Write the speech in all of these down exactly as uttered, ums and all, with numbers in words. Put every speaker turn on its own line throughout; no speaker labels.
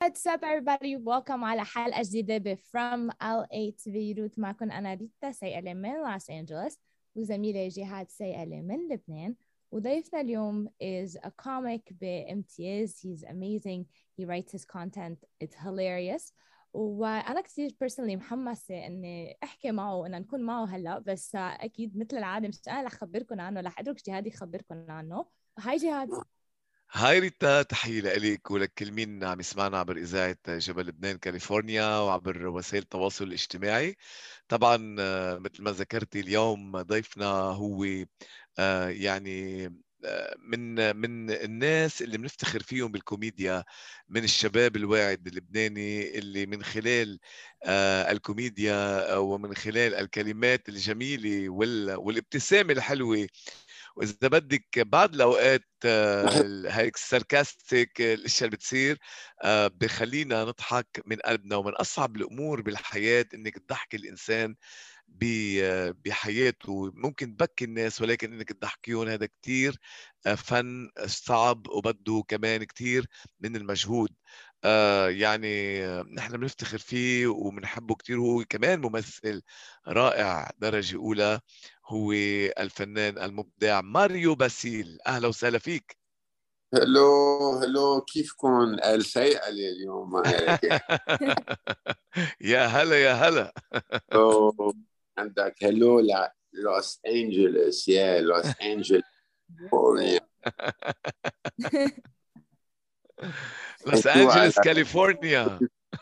What's up everybody, welcome على حلقة جديدة ب From إل إيه to Beirut. معكم أنا ريتا سيئلة من لوس أنجلوس وزميلي جهاد سيئلة من لبنان. وضيفنا اليوم is a comic بامتياز. He's amazing, he writes his content, it's hilarious. وأنا كثير personally محمسة إني أحكي معه وإن نكون معه هلأ، بس أكيد مثل العادة مش أنا رح أخبركم عنه، رح أترك جهاد يخبركم عنه. هاي جهاد.
هاي ريتا، تحية لك ولكل مين عم يسمعنا عبر إذاعة جبل لبنان كاليفورنيا وعبر وسائل التواصل الاجتماعي. طبعا مثل ما ذكرتي اليوم ضيفنا هو يعني من من الناس اللي بنفتخر فيهم بالكوميديا، من الشباب الواعد اللبناني اللي من خلال الكوميديا ومن خلال الكلمات الجميلة والابتسامة الحلوة، وإذا بدك بعض الأوقات هيك ساركاستيك الأشياء اللي بتصير بخلينا نضحك من قلبنا. ومن أصعب الأمور بالحياة إنك تضحك الإنسان بحياته. ممكن تبكي الناس ولكن إنك تضحكيهم هذا كتير فن صعب وبده كمان كتير من المجهود. يعني نحن بنفتخر فيه وبنحبه كتير. هو كمان ممثل رائع درجة أولى، هو الفنان المبدع ماريو باسيل. أهلا وسهلا فيك.
هلو هلو، كيفكم؟ قال سيئة اليوم هيك.
يا هلا يا هلا.
عندك هلو لوس أنجلوس، يا لوس أنجلوس
لوس أنجلوس كاليفورنيا.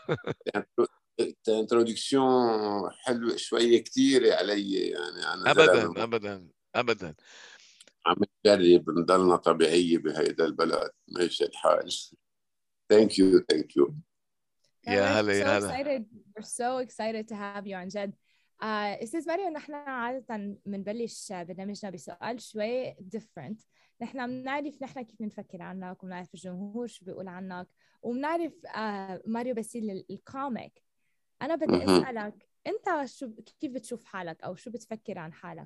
انترودكسيون حلوة شوية كتيرة علي، يعني أنا
أبدا أبدا أبدا
عم نجرب نضلنا طبيعية بهيدا البلد، ماشي الحال. Thank you, thank you.
يا هلا يا
so
هلا.
excited. We're so excited to have you عن جد. uh, استاذ ماريو، نحن عادة بنبلش برنامجنا بسؤال شوي different. نحن بنعرف نحن كيف بنفكر عنك، وبنعرف الجمهور شو بيقول عنك، وبنعرف uh, ماريو باسيل الكوميك. أنا بدي أسألك أنت شو كيف بتشوف حالك أو شو بتفكر عن حالك؟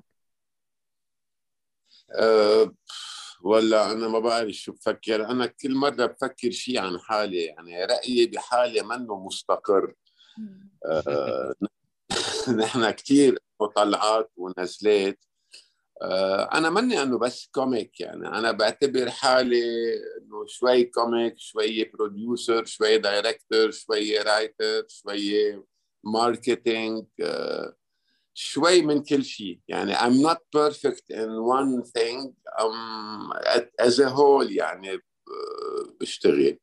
أه ولا أنا ما بعرف شو بفكر. أنا كل مرة بفكر شيء عن حالي، يعني رأيي بحالي منه مستقر. أه نحن كتير طلعات ونزلات. أه أنا مني أنه بس كوميك، يعني أنا بعتبر حالي أنه شوي كوميك، شوي بروديوسر، شوي دايركتور، شوي رايتر، شوي ماركتينج، أه شوي من كل شيء. يعني I'm not perfect in one thing. um, as a whole يعني بشتغل.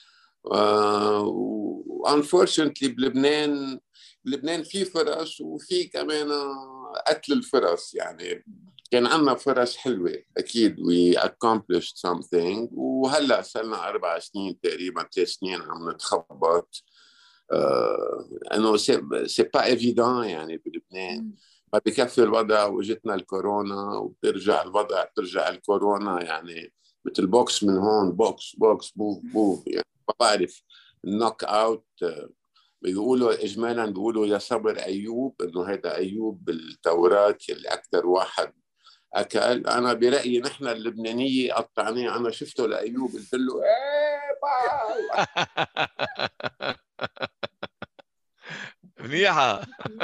uh, unfortunately بلبنان بلبنان في فرص وفي كمان قتل الفرص. يعني كان عندنا فرص حلوة أكيد، we accomplished something، وهلأ صرنا أربع سنين تقريبا ثلاث سنين عم نتخبط. انه سي با ايفيدون يعني بلبنان. ما بكفي الوضع وجتنا الكورونا وبترجع الوضع، بترجع الكورونا يعني مثل بوكس من هون، بوكس بوكس بوف بوف. يعني ما بعرف النوك اوت. بيقولوا اجمالا بيقولوا يا صبر ايوب، انه هذا ايوب بالتوراة اللي اكثر واحد اكل. انا برايي نحن اللبنانيه قطعناه. انا شفته لايوب قلت له ايه باو.
منيحة.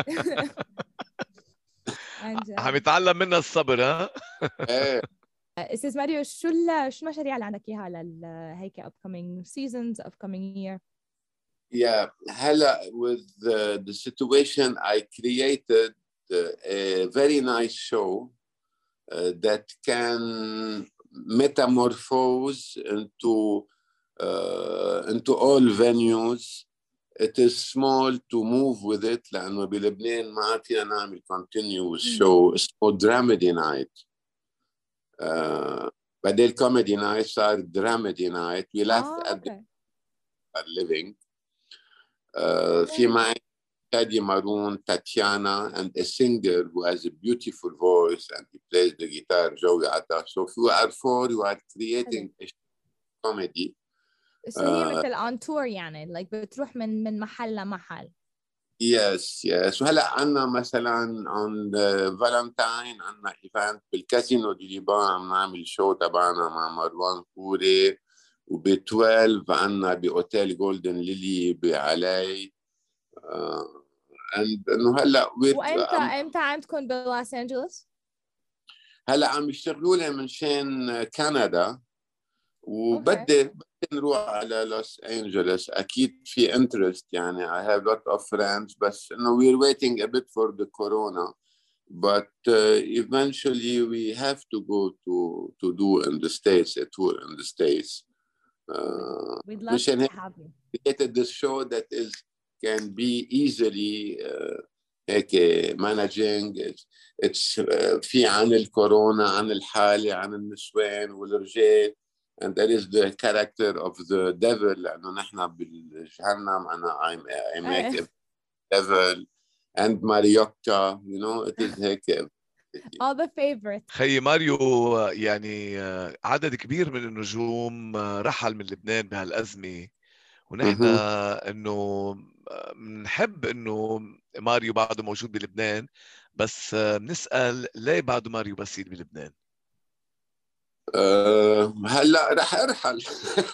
عم يتعلم منها الصبر. ها
استاذ ماريو، شو شو المشاريع اللي عندك اياها لهيك upcoming seasons, upcoming year؟
Yeah, هلا with the, the situation I created a very nice show uh, that can metamorphose into uh, into all venues. It is small to move with it لأنه بلبنان ما فينا نعمل continuous show اسمه Dramedy Night. uh, بدل Comedy Night صار Dramedy Night. We laugh
ah,
at
okay.
the living. uh, في معي Tadi Maroon, Tatiana, and a singer who has a beautiful voice and he plays the guitar, Joey Atta. So if you are four, you are creating a comedy.
So هي مثل on tour يعني like بتروح من من محل لمحل.
Yes, yes. وهلا عنا مثلا on the Valentine عنا event بالكازينو دي ليبان، عم نعمل شو تبعنا مع مروان كوري وب اثناشر عنا بأوتيل جولدن ليلي بعلاي. آه انه هلا
وامتى امتى عندكم بلوس انجلوس؟
هلا عم يشتغلوا لي من شان كندا، وبدي بدي نروح على لوس انجلوس. اكيد في انترست يعني. I have lot of friends بس انه we're waiting a bit for the corona, but uh, eventually we have to go to to do in the States, a tour in the States. Uh,
We'd love to have you.
created this show that is can be easily uh, هيك managing. It's, it's uh, في عن الكورونا، عن الحالة، عن النسوان والرجال. And that is the character of the devil. لأنه نحن بالجهنم أنا I'm, I make a devil and Mariotta, you know, it is هيك.
All the favorites.
خي ماريو، يعني عدد كبير من النجوم رحل من لبنان بهالأزمة، ونحن انه بنحب انه ماريو بعده موجود بلبنان، بس بنسأل ليه بعده ماريو بسيط بلبنان؟
أه هلا رح ارحل.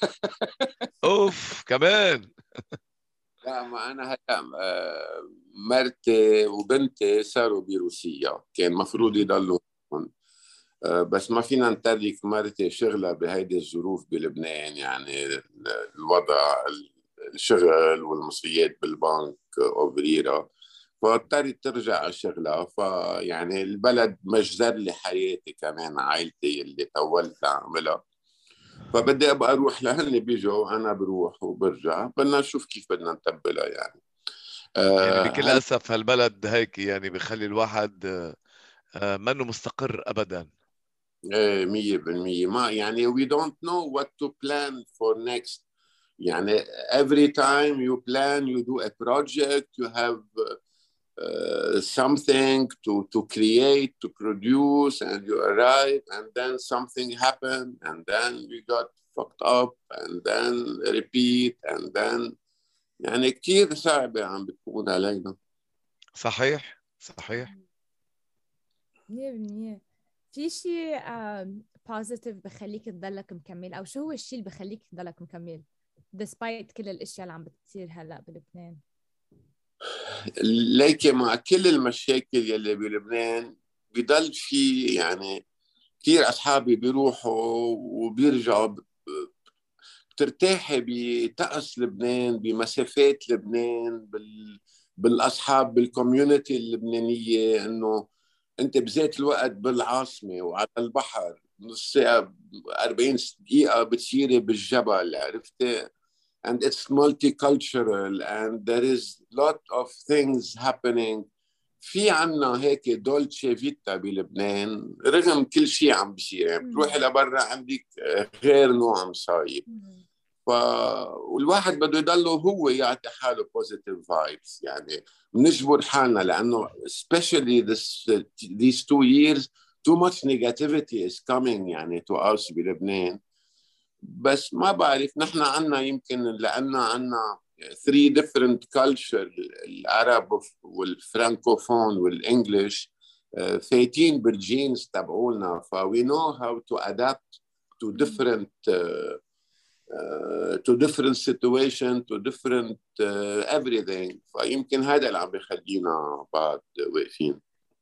اوف كمان.
لا ما انا هلا مرتي وبنتي صاروا بروسيا، كان مفروض يضلوا هون. أه بس ما فينا نترك مرتي شغلها بهيدي الظروف بلبنان، يعني الوضع الشغل والمصريات بالبنك وبريرة، فاضطرت ترجع على شغلها. فيعني البلد مجزر لي حياتي كمان، عائلتي اللي طولت اعملها، فبدي ابقى اروح لهن بيجوا انا بروح وبرجع. بدنا نشوف كيف بدنا نتبلها يعني.
آه يعني بكل
هل...
اسف هالبلد هيك يعني بخلي الواحد آه منه مستقر ابدا.
ايه مية بالمية. ما يعني we don't know what to plan for next. يعني every time you plan you do a project, you have uh, something to to create, to produce, and you arrive and then something happened and then we got fucked up and then repeat and then يعني كتير صعبة عم بتكون علينا.
صحيح صحيح.
مية بالمية. في شيء بوزيتيف بخليك تضلك مكمل، أو شو هو الشيء اللي بخليك تضلك مكمل despite كل الأشياء اللي عم بتصير هلأ بلبنان؟
ليكي مع كل المشاكل يلي بلبنان بضل في يعني كتير أصحابي بيروحوا وبيرجعوا، بترتاحي بطقس لبنان، بمسافات لبنان، بال... بالأصحاب، بالكوميونتي اللبنانية. إنه أنت بذات الوقت بالعاصمة وعلى البحر، نص ساعة أربعين دقيقة بتصيري بالجبل، عرفتي؟ And it's multicultural and there is lot of things happening. في عنا هيك دولتشي فيتا بلبنان رغم كل شيء عم بيصير. يعني بتروحي لبرا عندك غير نوع مصايب. ف والواحد بده يضله هو يعطي حاله positive vibes. يعني بنجبر حالنا لانه especially this these two years too much negativity is coming يعني to us بلبنان. بس ما بعرف، نحن عنا يمكن لأننا عنا three different culture، العرب والفرانكوفون والإنجليش فايتين بالجينز تبعولنا، ف we know how to adapt to different uh, uh, to different situation to different uh, everything. فيمكن هذا اللي عم بيخلينا بعد واقفين.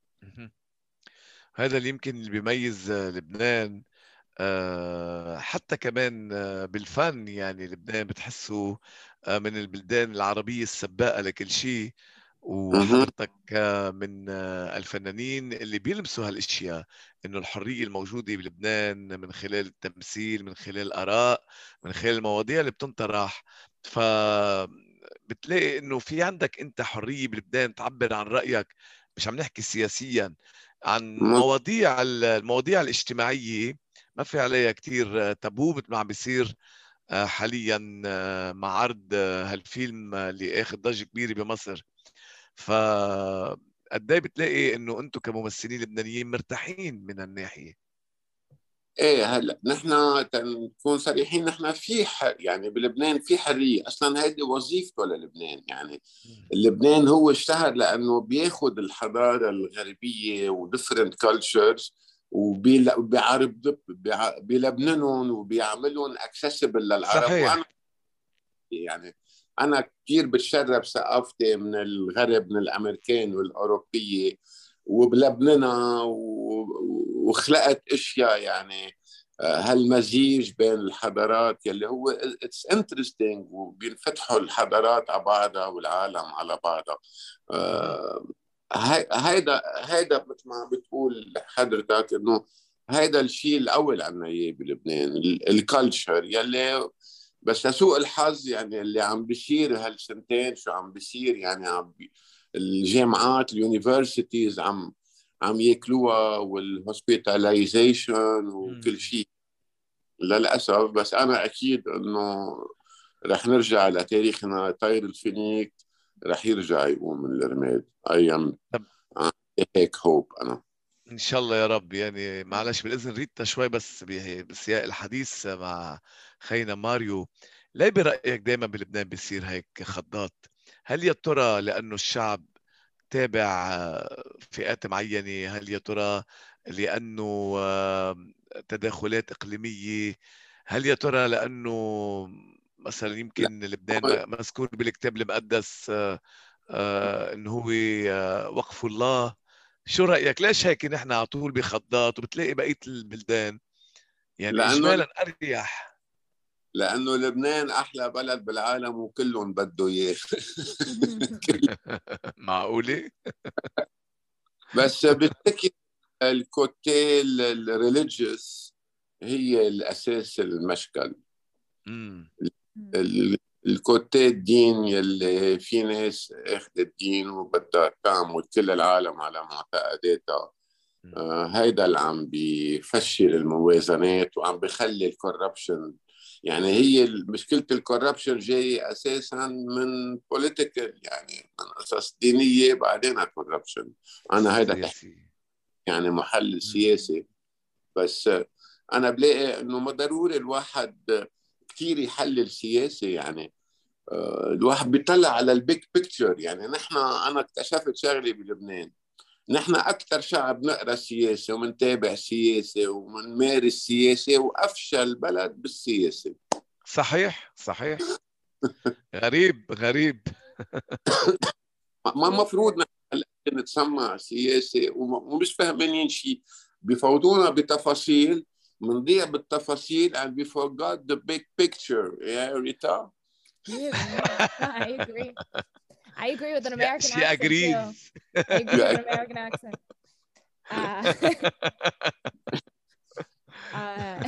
هذا اللي يمكن اللي بيميز لبنان. أه حتى كمان بالفن، يعني لبنان بتحسه من البلدان العربية السباقة لكل شيء، وحضرتك من الفنانين اللي بيلمسوا هالاشياء، انه الحرية الموجودة بلبنان من خلال التمثيل، من خلال الآراء، من خلال المواضيع اللي بتنطرح. ف بتلاقي انه في عندك انت حرية بلبنان تعبر عن رأيك، مش عم نحكي سياسيا، عن مواضيع المواضيع الاجتماعية ما في عليها كتير تابو مثل ما عم بيصير حاليا مع عرض هالفيلم اللي اخذ ضجة كبيرة بمصر. ف قد ايه بتلاقي انه انتم كممثلين لبنانيين مرتاحين من الناحية؟
ايه هلا نحن نكون صريحين، نحن في ح... يعني بلبنان في حريه اصلا، هيدي وظيفته للبنان. يعني لبنان هو اشتهر لانه بياخذ الحضاره الغربيه وديفرنت كلتشرز وبيعرض بلبنانهم وبيعملون اكسسبل للعرب.
صحيح.
وانا يعني انا كثير بتشرب ثقافتي من الغرب، من الامريكان والاوروبيه، وبلبنانها وخلقت اشياء يعني هالمزيج بين الحضارات يلي هو اتس انترستينج، وبينفتحوا الحضارات على بعضها والعالم على بعضها. آه هيدا هيدا مثل ما بتقول حضرتك انه هيدا الشيء الاول عنا اياه بلبنان، الكالتشر يلي بس لسوء الحظ يعني اللي عم بيصير هالسنتين شو عم بيصير يعني عم بي الجامعات اليونيفرسيتيز عم عم ياكلوها، والهوسبيتاليزيشن وكل شيء للاسف. بس انا اكيد انه رح نرجع لتاريخنا، طير الفينيك رح يرجع يقوم من الرماد. ايام هيك هوب انا
ان شاء الله يا رب. يعني معلش بالاذن ريتا شوي بس بسياق الحديث مع خينا ماريو، ليه برايك دائما بلبنان بيصير هيك خضات؟ هل يا ترى لانه الشعب تابع فئات معينه؟ هل يا ترى لانه تداخلات اقليميه؟ هل يا ترى لانه مثلا يمكن لبنان مذكور بالكتاب المقدس انه هو وقف الله؟ شو رأيك؟ ليش هيك نحن على طول بخضات وبتلاقي بقية البلدان يعني
لأنه
إجمالا أريح؟
لأنه لبنان أحلى بلد بالعالم وكلهم بده إياه.
معقولة؟
بس بالتأكيد الكوتيل الريليجيوس هي الأساس المشكل. الكوتي الدين يلي في ناس اخذ الدين وبدها تعمل كل العالم على معتقداتها، آه هيدا اللي عم بيفشل الموازنات وعم بيخلي الكوربشن. يعني هي مشكلة الكوربشن جاي أساسا من بوليتيكال، يعني من قصص دينية بعدين كوربشن. أنا هيدا تحكي يعني محلل سياسي، بس أنا بلاقي إنه ما ضروري الواحد كثير يحلل سياسي. يعني الواحد بيطلع على البيج بيكتشر. يعني نحن أنا اكتشفت شغلي بلبنان، نحن أكثر شعب نقرأ سياسة ومنتابع سياسة ومنمارس سياسة، وأفشل بلد بالسياسة.
صحيح صحيح. غريب غريب.
ما مفروض نتسمع سياسة ومش فاهمين شيء، بيفوضونا بتفاصيل، منضيع بالتفاصيل and we forgot the big picture. Yeah, Rita?
Yes, I agree. I agree with an American
she
accent
agrees.
too. I agree with an American accent. Uh, uh,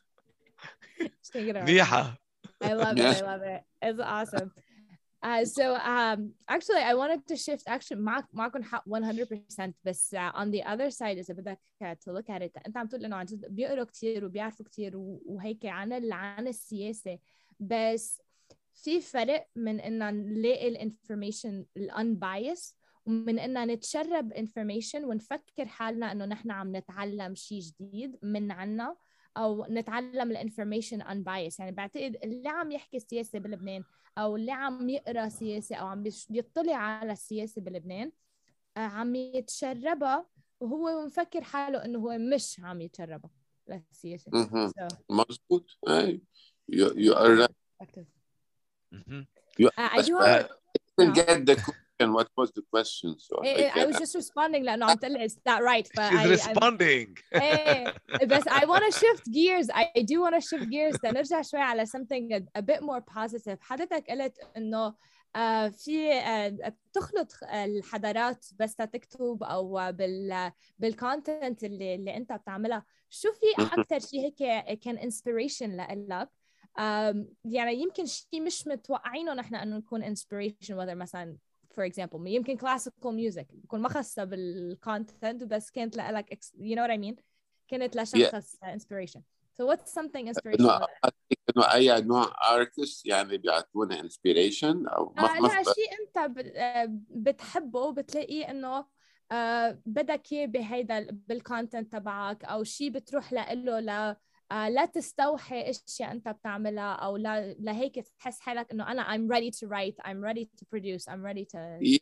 منيحة.
I love it. I love it. It's awesome. Uh, so um, actually, I wanted to shift. Actually, ما ما أكون one hundred percent. بس uh, on the other side إذا بدك to look at it. أنت عم تقول إنه عن جد بيقروا كتير وبيعرفوا كتير وهيك عن عن السياسة، بس في فرق من إن نلاقي الانفورميشن الانبايس ومن إن نتشرب انفورميشن ونفكر حالنا إنه نحن عم نتعلم شيء جديد من عنا، أو نتعلم الانفورميشن unbiased. يعني بعتقد اللي عم يحكي سياسة بلبنان أو اللي عم يقرأ سياسة أو عم بيطلع على السياسة بلبنان عم يتشربها وهو مفكر حاله إنه هو مش عم يتشربها للسياسة.
so. مظبوط. أي you, you are right. You,
uh, I do have
I didn't get the question. What was the question? So
I, I, I was just responding لأنه عم تقول is that right? But
She's
I,
responding.
Hey, بس I want to shift gears. I do want to shift gears. نرجع شوي على something a, a bit more positive. حضرتك قلت إنه uh, في uh, بتخلط الحضارات بس تكتب أو بال بالcontent اللي اللي أنت بتعملها. شو في أكتر شيء هيك كان inspiration لإلك؟ um, يعني يمكن شيء مش متوقعينه نحن إنه نكون inspiration، whether مثلا for example يمكن classical music بكون ما خاصة بالcontent بس كانت لك you know what I mean، كانت لشخص yeah. inspiration. So what's something inspirational؟
إنه أي نوع artist يعني بيعطونا inspiration أو
آه لا شيء أنت بتحبه بتلاقيه إنه آه بدك إياه بهيدا بالcontent تبعك، أو شيء بتروح له ل Uh, لا تستوحي اشياء انت بتعملها، او لا لهيك تحس حالك انه انا I'm ready to write, I'm ready to produce, I'm ready to
yeah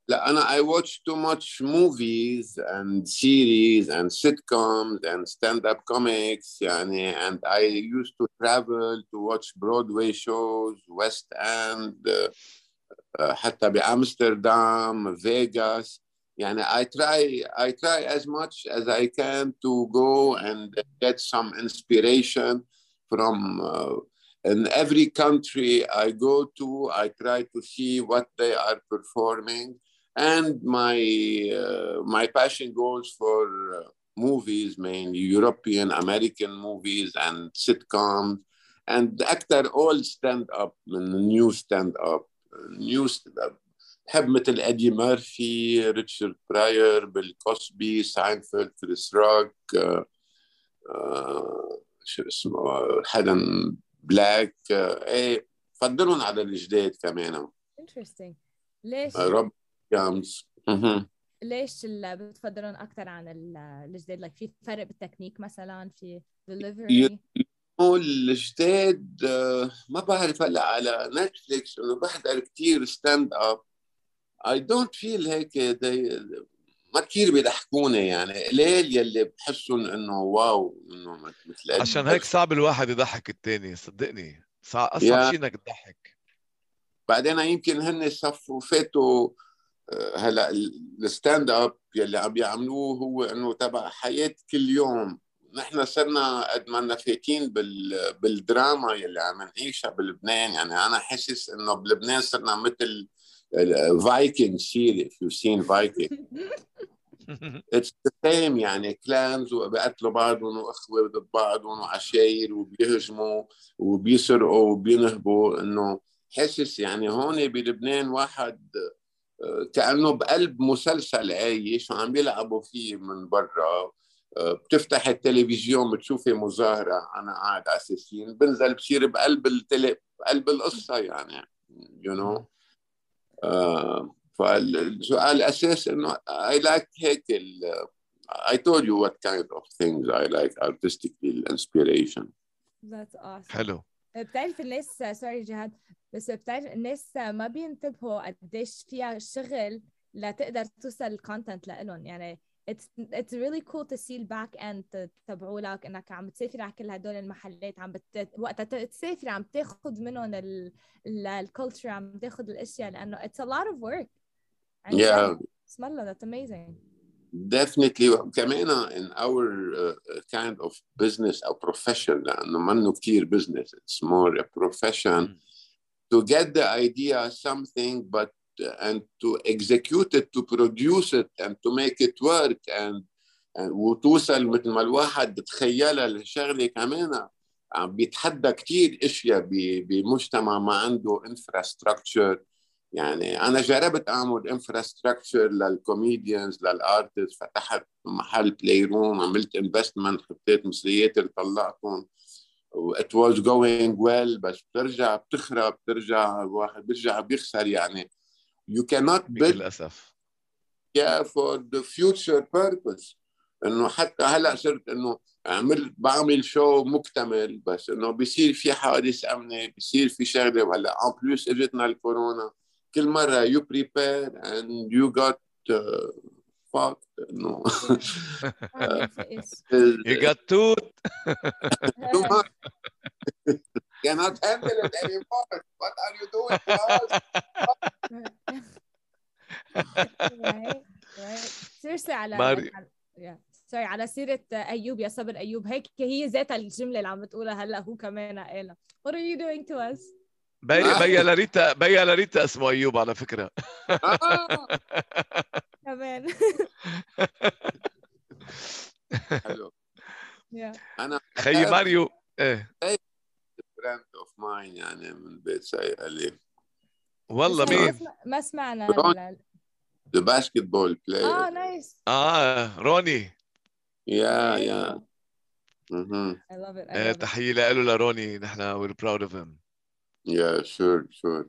لا أنا I watch too much movies and series and sitcoms and stand-up comics يعني and I used to travel to watch Broadway shows West End uh, حتى بأمستردام فيغاس يعني I try I try as much as I can to go and get some inspiration from uh, in every country I go to I try to see what they are performing and my uh, my passion goes for uh, movies mainly European American movies and sitcoms and actor all stand up new stand up new stand up بحب مثل ادي مارفي ريتشارد براير بيل كوسبي ساينفيلد كريس روك آه، آه، شو اسمه حدا بلاك آه، ايه بفضلهم على الجداد كمان
interesting ليش
روب جامز
ليش اللي بتفضلون اكثر عن ال- الجداد like في فرق بالتكنيك مثلا في delivery
الجداد آه، ما بعرف هلا على نتفليكس انه بحضر كثير ستاند اب I don't feel هيك they, ما كثير بيضحكوني يعني قليل يلي بحسهم انه واو انه مثل
عشان هيك صعب الواحد يضحك التاني صدقني صعب اصعب
يا
شيء انك تضحك
بعدين يمكن هن صفوا فاتوا آه، هلا الستاند اب يلي عم يعملوه هو انه تبع حياه كل يوم نحن صرنا قد ما لنا فايتين بال بالدراما يلي عم نعيشها بلبنان يعني انا حاسس انه بلبنان صرنا مثل فايكنج سيري if you've seen Viking it's the same يعني كلانز وبيقتلوا بعضهم واخوه ضد بعضهم وعشاير وبيهجموا وبيسرقوا وبينهبوا انه حاسس يعني هون بلبنان واحد كأنه بقلب مسلسل عايش وعم بيلعبوا فيه من برا بتفتح التلفزيون بتشوفي مظاهرة أنا قاعد على السيسين بنزل بصير بقلب التلي بقلب القصة يعني you know uh, فالسؤال الأساس إنه I like هيك ال I told you what kind of things I like artistically inspiration.
That's awesome.
حلو.
بتعرف الناس سوري جهاد بس بتعرف الناس ما بينتبهوا قديش فيها شغل لتقدر توصل الكونتنت لإلهم يعني it's it's really cool to see الباك اند تبعوا لك انك عم بتسافر على كل هدول المحلات عم بت... وقتها تسافر عم تاخذ منهم الكولتشر عم تاخذ الاشياء لانه it's a lot of work.
Yeah.
بسم الله that's amazing.
Definitely كمان in our uh, kind of business or profession لأنه منه كتير business it's more a profession to get the idea something but uh, and to execute it to produce it and to make it work and, and وتوصل مثل ما الواحد بتخيلها الشغلة كمان عم بيتحدى كتير اشياء بمجتمع ما عنده infrastructure يعني أنا جربت أعمل انفراستراكشر للكوميديانز للارتست فتحت محل بلاي روم عملت انفستمنت حطيت مصريات اللي طلعتهم و it was going well بس بترجع بتخرب بترجع الواحد بيرجع بيخسر يعني you cannot build
للأسف
yeah for the future purpose إنه حتى هلأ صرت إنه عملت بعمل شو مكتمل بس إنه بيصير في حوادث أمنية بيصير في شغلة وهلا en plus إجتنا الكورونا كل مرة you prepare and you got uh, fucked no
you got tooth
too much cannot handle it anymore what are you doing to us
right right seriously على
ماري
yeah sorry على سيرة أيوب يا صبر أيوب هيك هي ذات الجملة اللي عم بتقولها هلا هو كمان قالها what are you doing to us
بي بي لاريتا بي لاريتا اسمه أيوب على فكرة
كمان
حلو
أنا
خي ماريو إيه
friend of mine يعني من بيت سيئة
والله مين
ما سمعنا
the basketball player
اه نايس
آه روني
yeah yeah mm-hmm.
I love it I love it
تحية له لروني نحن we're proud of him
yeah sure sure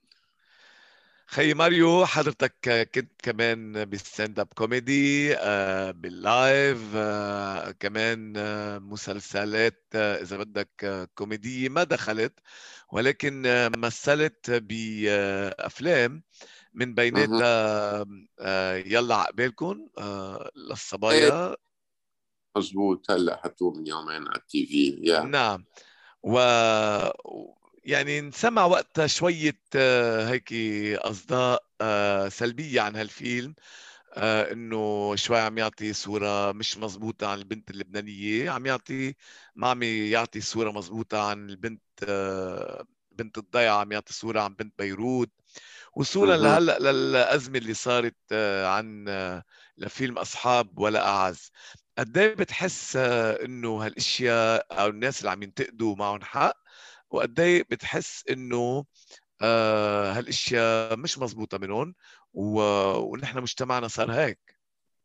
خي ماريو حضرتك كنت كمان بالستاند اب كوميدي باللايف كمان مسلسلات اذا بدك كوميديه ما دخلت ولكن مثلت بافلام من بيناتها آه يلا عقبالكم آه للصبايا.
مزبوط، هلا حطوه من يومين على التي في. يا
نعم. و يعني نسمع وقتها شوية آه هيك أصداء آه سلبية عن هالفيلم، آه انه شوي عم يعطي صورة مش مزبوطة عن البنت اللبنانية، عم يعطي ما عم يعطي صورة مزبوطة عن البنت آه بنت الضيعة، عم يعطي صورة عن بنت بيروت. وصولا
أها.
لهلا للأزمة اللي صارت آه عن آه لفيلم أصحاب ولا أعز. قد ايه بتحس آه انه هالاشياء او الناس اللي عم ينتقدوا معهم حق، وقد ايه بتحس انه آه هالاشياء مش مزبوطة منهم و... ونحن مجتمعنا صار هيك؟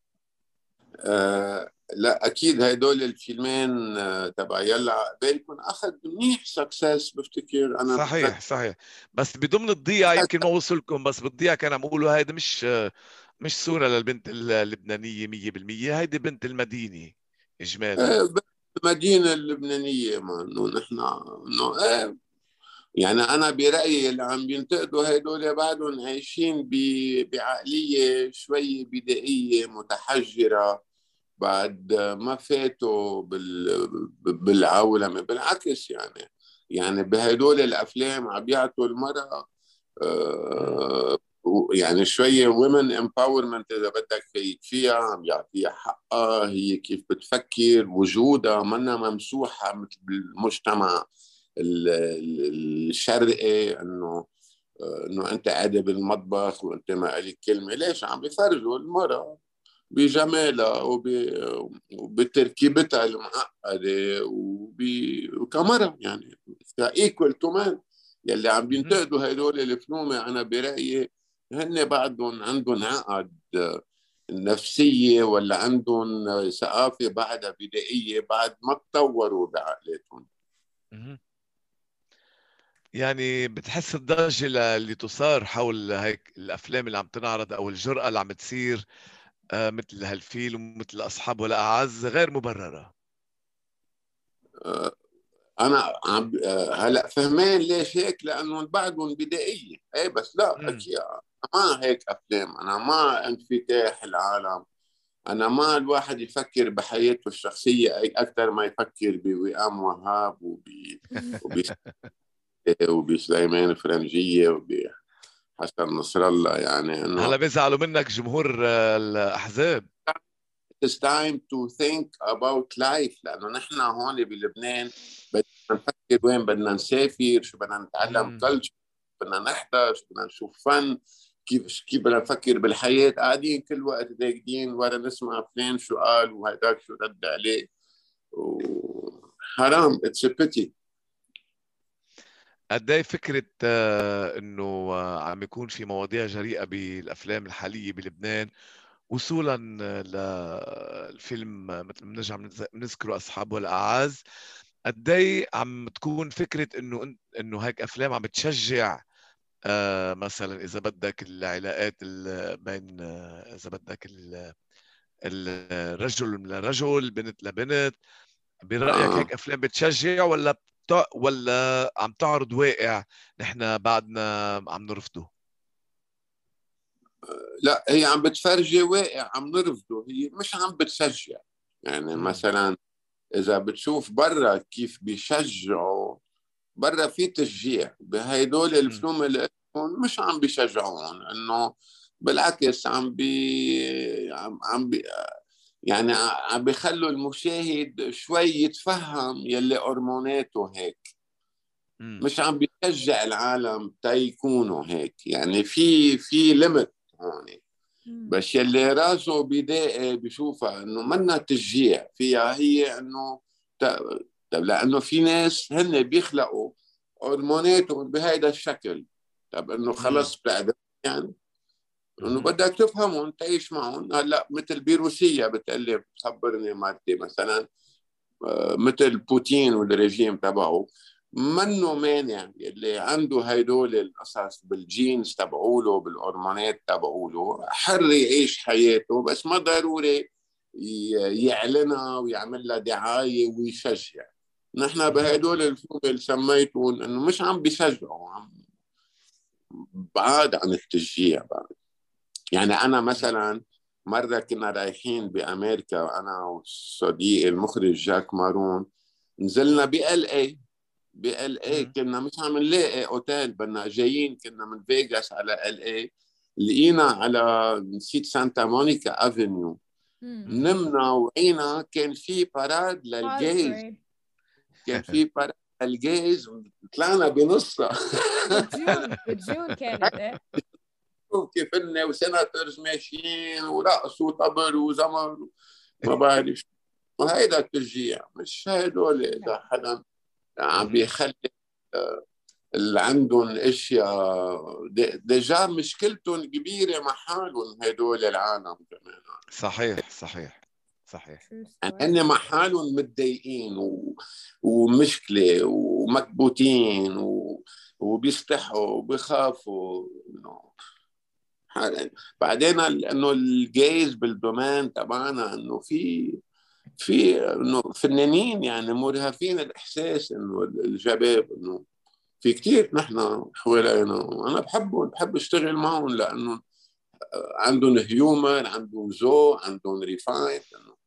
آه لا اكيد هدول الفيلمين آه تبع يلا عقبالكم اخذ منيح سكسس بفتكر. انا
صحيح
بتذكر
صحيح. بس بضمن الضيعة يمكن ما وصلكم، بس بالضيعة كان عم يقولوا هيدي مش مش صورة للبنت اللبنانية مية بالمية، هيدي بنت المدينة إجمالا.
آه المدينه اللبنانيه، ما انه نحن انه آه يعني انا برايي اللي عم بينتقدوا هدول بعدهم عايشين ب- بعقليه شوي بدائيه متحجره، بعد ما فاتوا بال بالعولمه. بالعكس يعني، يعني بهدول الافلام عم بيعطوا المراه
مم.
آه، يعني شويه ومن امباورمنت اذا بدك، في فيها عم يعطيها حقها، هي كيف بتفكر، وجودها منا ممسوحه مثل بالمجتمع ال- ال- الشرقي، انه انه انت قاعده بالمطبخ وانت ما لك كلمه. ليش عم بيفرجوا المراه بجمالها وب... وبتركيبتها المعقده وب... وكمرة يعني ايكوال تو مان. يلي عم
مهم.
بينتقدوا هدول الفلومه انا برايي هن بعدهم عندهم عقد نفسيه، ولا عندهم ثقافه بعدها بدائيه، بعد ما تطوروا بعقلاتهم.
مهم. يعني بتحس الضجة ل- اللي تصار حول هيك الأفلام اللي عم تنعرض أو الجرأة اللي عم تصير آه، مثل هالفيلم ومثل أصحاب ولا أعز غير مبررة؟
انا عم آه، هلا فهمان ليش هيك، لانه بعدهم بدائيه. اي بس لا
مم.
اكيد ما هيك افلام، انا ما انفتاح العالم، انا ما الواحد يفكر بحياته الشخصيه اي اكثر ما يفكر بوئام وهاب وب وب وبسليمان فرنجيه وبحسن نصر الله. يعني
هلا
انه
بيزعلوا منك جمهور آه، الأحزاب.
it's time to think about life، لانه نحن هون بلبنان بدنا نفكر وين بدنا نسافر، شو بدنا نتعلم
مم.
كلتشر، بدنا نحضر، شو بدنا نشوف فن، كيف كيف بدنا نفكر بالحياه. قاعدين كل وقت راكدين ورا نسمع فلان شو قال وهداك شو رد عليه، وحرام. اتس ا بيتي.
قد ايه فكرة آه، انه آه، عم يكون في مواضيع جريئة بالافلام الحالية بلبنان، وصولا للفيلم مثل ما بنرجع بنز- بنذكره اصحاب والاعاز. قد ايه عم تكون فكرة انه إن- انه هيك افلام عم بتشجع آه، مثلا اذا بدك العلاقات ال- بين آه، اذا بدك ال- الرجل لرجل، بنت لبنت. برأيك
آه.
هيك أفلام بتشجع ولا بتع... ولا عم تعرض واقع نحن بعدنا عم نرفضه؟
لا، هي عم بتفرجي واقع عم نرفضه، هي مش عم بتشجع. يعني
مم.
مثلا اذا بتشوف برا كيف بيشجعوا، برا في تشجيع، بهدول
مم.
الفلوم اللي مش عم بيشجعون، انه بالعكس عم بي عم, عم بي يعني عم بيخلوا المشاهد شوي يتفهم يلي هرموناته هيك،
مم.
مش عم بيشجع العالم تيكونوا هيك. يعني في في ليميت هون،
مم.
بس يلي راسه بدائي بشوفها انه منا تشجيع فيها، هي انه ت- طب لانه في ناس هن بيخلقوا هرموناتهم بهذا الشكل، طب انه
مم.
خلص بتعرف يعني انه
مم.
بدك تفهمهم تعيش معهم. هلا مثل بروسيا بتقلي بتخبرني مرتي مثلا، آه، مثل بوتين والرجيم تبعه، منه مانع اللي عنده هيدول القصص بالجينز تبعوله بالهرمونات تبعوله، حر يعيش حياته، بس ما ضروري ي- يعلنها ويعمل لها دعايه ويشجع. نحن
مم.
بهدول الفيلم اللي سميتهم انه مش عم بيشجعوا، عم بعاد عن التشجيع بعد. يعني أنا مثلا مرة كنا رايحين بأمريكا أنا وصديقي المخرج جاك مارون، نزلنا بال اي بال اي كنا مش عم نلاقي اوتيل، بدنا جايين كنا من فيغاس على ال اي، لقينا على نسيت سانتا مونيكا افنيو، نمنا وعينا كان في باراد للجيز، كان في باراد للجيز، طلعنا بنصها
بجون بجون كانت ايه
كيف إنه وسيناتورز ماشيين ورقص وطبل وزمر ما بعرف. وهيدا التشجيع، مش هدول إذا حدا عم بيخلي اللي عندهم اشياء ديجا مشكلتهم كبيره مع حالهم هدول العالم كمان.
صحيح صحيح صحيح.
هن مع حالهم متضايقين و... ومشكله ومكبوتين و... وبيستحوا وبيخافوا انه حال... بعدين انه الجايز بالدومين تبعنا انه في في انه فنانين يعني مرهفين الاحساس انه الشباب انه في كتير نحن حوالينا أنا بحبهم، بحب أشتغل معهم لأنه عندهم هيومر، عندهم ذوق، عندهم ريفاين،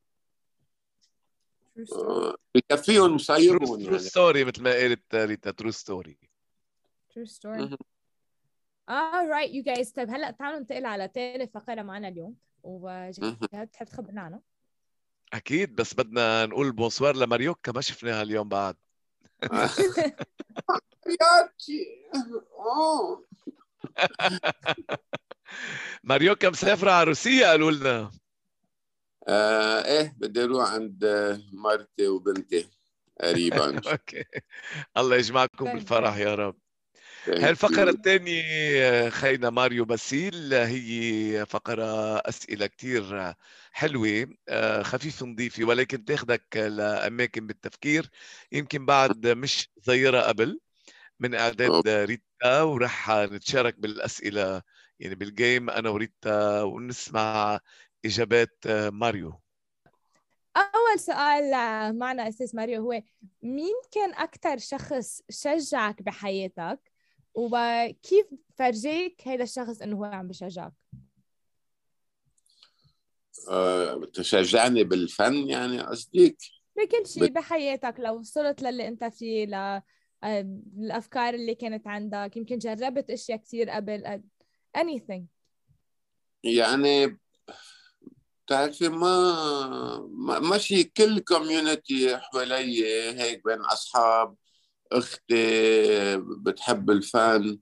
بكفيهم مصيبهم.
ترو ستوري مثل ما قالت ريتا، ترو ستوري.
ترو ستوري. All right you guys. طيب هلا تعالوا ننتقل على ثالث فقرة معنا اليوم، وجهاد بتحب تخبرنا عنها؟
أكيد، بس بدنا نقول بونسوار لماريوكا، ما شفناها اليوم بعد. ماريوكا مسافرة على روسيا قالوا لنا.
آه ايه بدي اروح عند مرتي وبنتي قريبا.
اوكي، الله يجمعكم بالفرح يا رب. هاي الفقرة الثانية خينا ماريو باسيل، هي فقرة أسئلة كتير حلوة خفيفة نظيفة، ولكن تاخدك لأماكن بالتفكير يمكن بعد مش زيرة قبل من إعداد ريتا، ورح نتشارك بالأسئلة يعني بالجيم أنا وريتا ونسمع إجابات ماريو.
أول سؤال معنا أستاذ ماريو هو مين كان أكتر شخص شجعك بحياتك، وكيف فرجيك هذا الشخص إنه هو عم بشجعك؟
أه، تشجعني بالفن يعني قصديك؟
بكل شيء بحياتك، لو وصلت للي أنت فيه، للأفكار اللي كانت عندك، يمكن جربت أشياء كثير قبل anything.
يعني تعرفي ما ماشي كل كوميونتي حوالي هيك بين أصحاب، أختي بتحب الفن.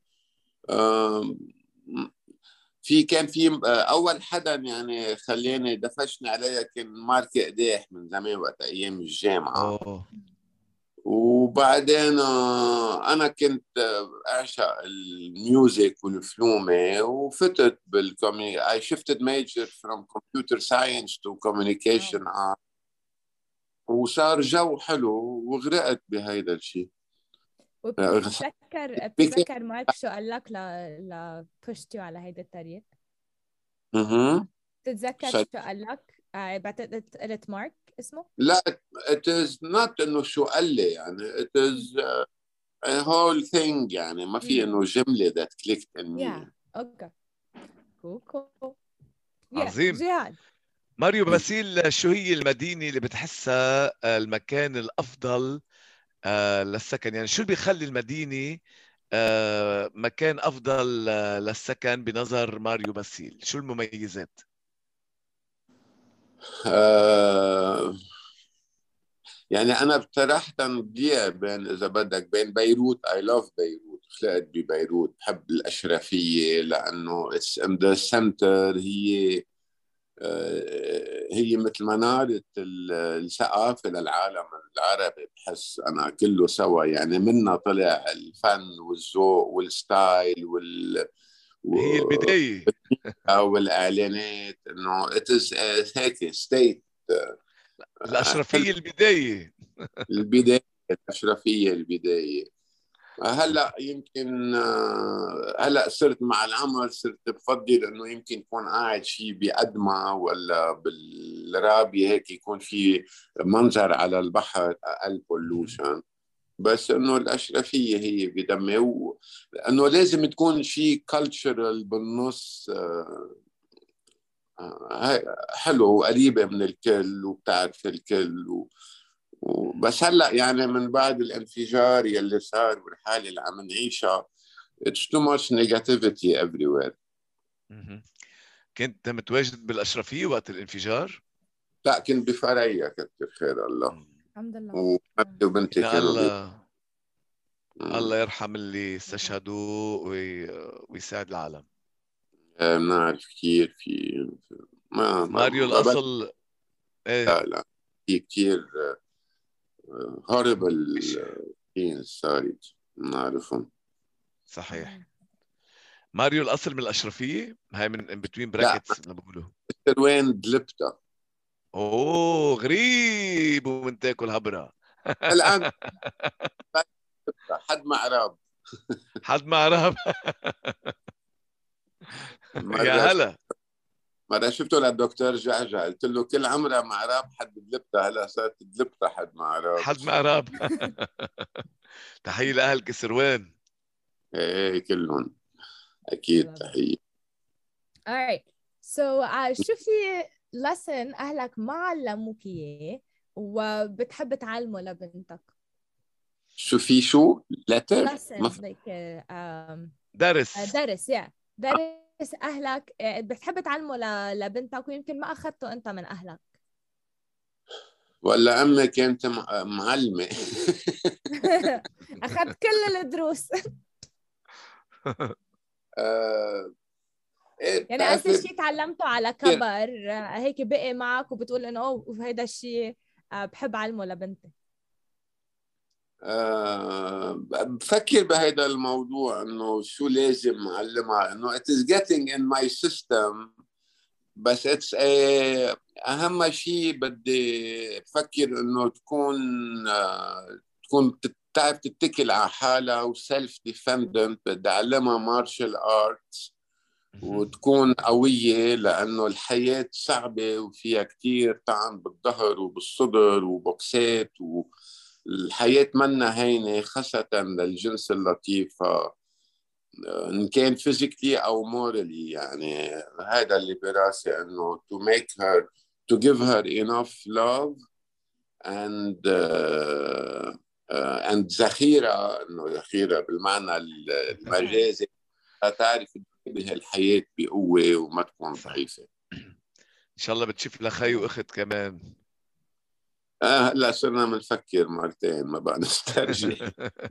في كان في أول حدا يعني خليني دفشني عليها كان مارك قديح من زمان وقت أيام الجامعة.
أوه.
وبعدين أنا كنت أعشق الميوزك والفلومة وفتت بالكومي I shifted major from computer science to communication art، وصار جو حلو وغرقت بهيدا الشيء.
وبتتذكر بتتذكر مارك شو قال لك ل ل بوشتيو على هيدا الطريق؟
اها
بتتذكر شو قال لك؟ بعتقد قلت مارك اسمه؟
لا it is not انه شو قال لي يعني it is uh, a whole thing يعني ما في انه جمله that clicked in me.
yeah اوكي كول كول
عظيم.
جهاد
ماريو باسيل، شو هي المدينة اللي بتحسها المكان الأفضل للسكن؟ يعني شو اللي بيخلي المدينة مكان أفضل للسكن بنظر ماريو باسيل؟ شو المميزات؟
آه يعني أنا بصراحة بدي بين إذا بدك بين بيروت I love بيروت، خلقت ببيروت، بحب الأشرفية لأنه it's in the center، هي هي مثل منارة الثقافة للعالم العربي، بحس أنا كله سوا يعني منها طلع الفن والذوق والستايل وال
هي البداية
والإعلانات إنه it is هيك ستيت
الأشرفية البداية
البداية الأشرفية البداية. هلا يمكن هلا صرت مع العمر صرت بفضل انه يمكن يكون قاعد شيء بأدمى ولا بالرابية هيك يكون في منظر على البحر، اقل بولوشن. بس انه الاشرفيه هي بدمي و... انه لازم تكون شيء كلتشرال بالنص. آه، آه، حلو وقريبه من الكل وبتعرف الكل و... و... بس هلا يعني من بعد الانفجار يلي صار والحاله اللي عم نعيشها it's too much negativity everywhere.
مهم. كنت متواجد بالأشرفية وقت الانفجار؟
لا كنت بفريا كتر خير الله.
مم.
الحمد لله.
وبنتي وبنتي
إن
كانوا بي...
الله الله يرحم اللي استشهدوا وي... ويساعد العالم.
آه، بنعرف كثير في ما ما
ماريو
ما بد...
الأصل ايه
لا لا في كثير هوربل
مش
ثينز صارت بنعرفهم.
صحيح. ماريو الأصل من الأشرفية، هاي من in between
لا
brackets اللي بقولوا.
مستر وين دلبتا
اوه غريب ومن تاكل هبرة.
الآن حد معراب.
حد ما عرف. يا
مرة
هلا.
مرة شفته للدكتور جعجع قلت له كل عمرها معراب حد دلبتا، هلا صارت دلبتا حد معراب.
حد ما عرف. تحية لأهل كسروان.
ايه كلهم اكيد تحية.
alright so uh, شو في lesson أهلك ما علموك إياه وبتحب تعلمه لبنتك؟
شو في شو لتر
lesson like uh, um,
درس.
uh, درس yeah درس أهلك uh, بتحب تعلمه ل... لبنتك ويمكن ما أخذته أنت من أهلك.
ولا أمي كانت معلمة.
أخذت كل الدروس.
آه، إيه
يعني قصدي
بتعرفي
شيء تعلمته على كبر هيك بقي معك وبتقول إنه أوه هيدا الشيء بحب علمه لبنتي.
آه، بفكر بهذا الموضوع انه شو لازم اعلمها، انه it is getting in my system، بس it's a اهم شيء بدي بفكر انه تكون آه، تكون بتعرف تتكل على حالها وسيلف ديفندنت. بدي اعلمها مارشال ارتس وتكون قوية، لأنه الحياة صعبة وفيها كتير طعن بالظهر وبالصدر وبوكسات، والحياة منا هينة خاصة للجنس اللطيف، إن كان physically أو morally. يعني هذا اللي براسي، إنه to make her to give her enough love and uh, uh, and ذخيرة، إنه ذخيرة بالمعنى المجازي، تعرف تواجه الحياة بقوة وما تكون ضعيفة.
إن شاء الله بتشوف لها خي وأخت كمان.
آه هلا صرنا بنفكر مرتين ما بقى نسترجي.